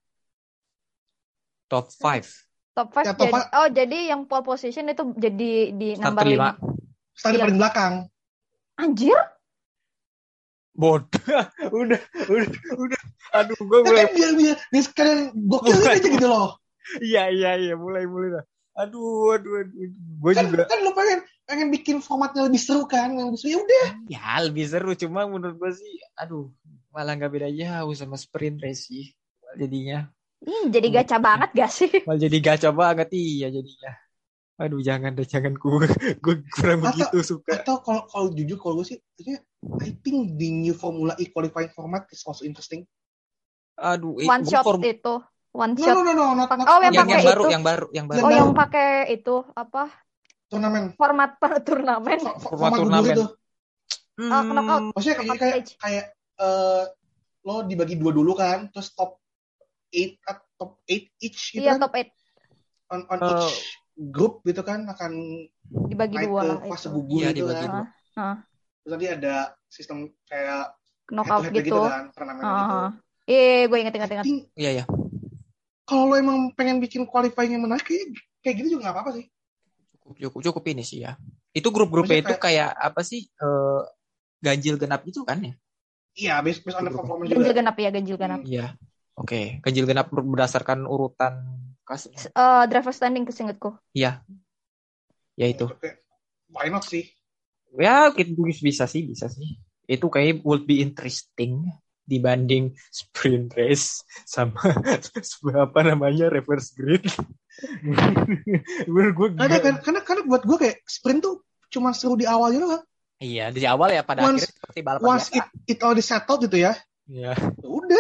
Top five. Top five Ya, top jadi five. oh jadi yang pole position itu jadi di Start number lima. lima. Start Iya. paling belakang. Anjir, Bodoh. udah, udah, udah. Aduh, gue Ya mulai. kan biar biar biar sekalian gokil Mulai. aja gitu loh. Iya, iya, iya, mulai, mulai lah. Aduh, aduh, aduh. Gue Kan juga. kan lo pengen pengen bikin formatnya lebih seru kan, yang lebih seru. Ya udah. Ya, lebih seru. Cuma menurut gue sih, aduh, malah nggak beda jauh sama sprint race sih. Jadinya. ini jadi gacha banget gak sih? Malah jadi gacha banget, iya jadinya. Aduh, jangan deh, jangan gue. Gue kurang Atau- begitu suka. Atau kalau kalau jujur kalau gue sih, maksudnya, I think the new Formula E qualifying format is also interesting. Aduh, eh, One gua shot form- itu, one No shot. no no no, not, not Oh, yang yang, not yang pakai baru, itu. yang baru, yang baru. Oh, Yang yang baru. pakai itu apa? turnamen. Format per turnamen. Fo- fo- Format Format gugur turnamen. itu. Ah, knockout. Maksudnya kayak Knockout kayak stage. kayak eh, lo dibagi dua dulu kan, terus top eight at- top eight each gitu Iya, kan, top eight on on Oh. each group gitu kan akan dibagi naik dua ke lah fase itu. gugur Iya, gitu dibagi kan. dua. Ah. Terus nanti ada sistem kayak Knockout head-to-head gitu. kan, turnamen gitu. Ah. Iya, gue inget inget I inget. think Iya, iya. kalau lo emang pengen bikin qualifying yang menarik kayak kayak gitu juga nggak apa-apa sih. Cukup, cukup, cukup ini sih ya. Itu grup-grupnya Maksudnya itu kayak apa sih? eh, ganjil genap itu kan ya? Iya, based, based on the performance Ganjil juga. genap ya, ganjil genap. Iya. Oke, ganjil genap berdasarkan urutan kas. Eh, driver standing kesingkatku. Ya itu. Oke. Why not sih? Ya, itu bisa sih, bisa sih. Itu kayak would be interesting dibanding sprint race sama apa namanya reverse grid. Menurut gue Karena kan karena karena buat gue kayak sprint tuh cuma seru di awalnya doang. iya, dari awal ya pada Once- akhirnya seperti balapan Once biasa. it it already settled gitu ya. Iya. ya udah.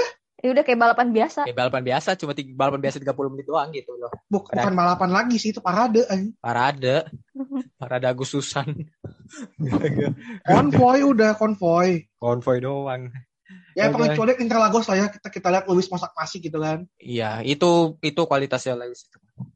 Ya udah kayak balapan biasa. Kayak balapan biasa, cuma tiga, balapan biasa tiga puluh menit doang gitu loh. Buk, Ada- bukan balapan lagi sih, itu parade. anjing. Parade, parade Agustusan. Konvoy udah, konvoy. Konvoy doang. Ya Oke. pengecualian Interlagos lah ya, kita kita lihat Lewis masak nasi gitu kan. Iya, itu itu kualitasnya Lewis.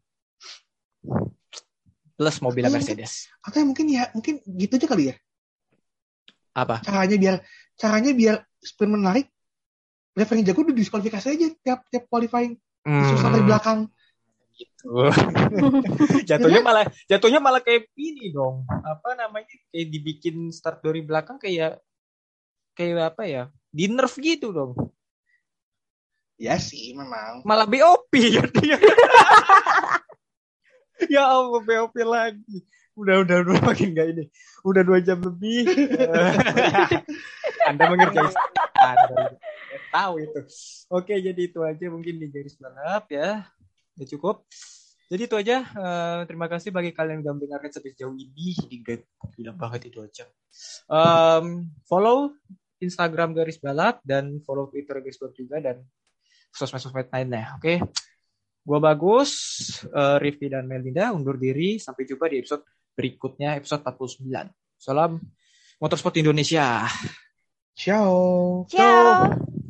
Plus mobilnya Iya, Mercedes. Atau ya mungkin ya, mungkin gitu aja kali ya. Apa? Caranya biar caranya biar sprint menarik, driver yang jago udah diskualifikasi aja tiap tiap qualifying. Susah dari belakang. Gitu. jatuhnya malah jatuhnya malah kayak ini dong. Apa namanya? Kayak dibikin start dari belakang kayak kayak apa ya? Di nerf gitu dong. Ya sih, memang. Malah B O P ya dia. Ya Allah, B O P lagi. Udah udah udah makin gak ini. Udah dua jam lebih. Anda mengerjakan Anda tahu itu. Oke, jadi itu aja mungkin di garis balap ya. Udah cukup. Jadi itu aja. Eh, terima kasih bagi kalian yang udah mendengarkan sampai sejauh ini. Jadi gila banget itu aja. Um, follow Instagram garis balap dan follow Twitter garis balap juga dan sosmed-sosmed lainnya. Oke. Gua Bagus, uh, Rifki dan Melinda undur diri. Sampai jumpa di episode berikutnya, episode empat puluh sembilan. Salam Motorsport Indonesia. Ciao. Ciao.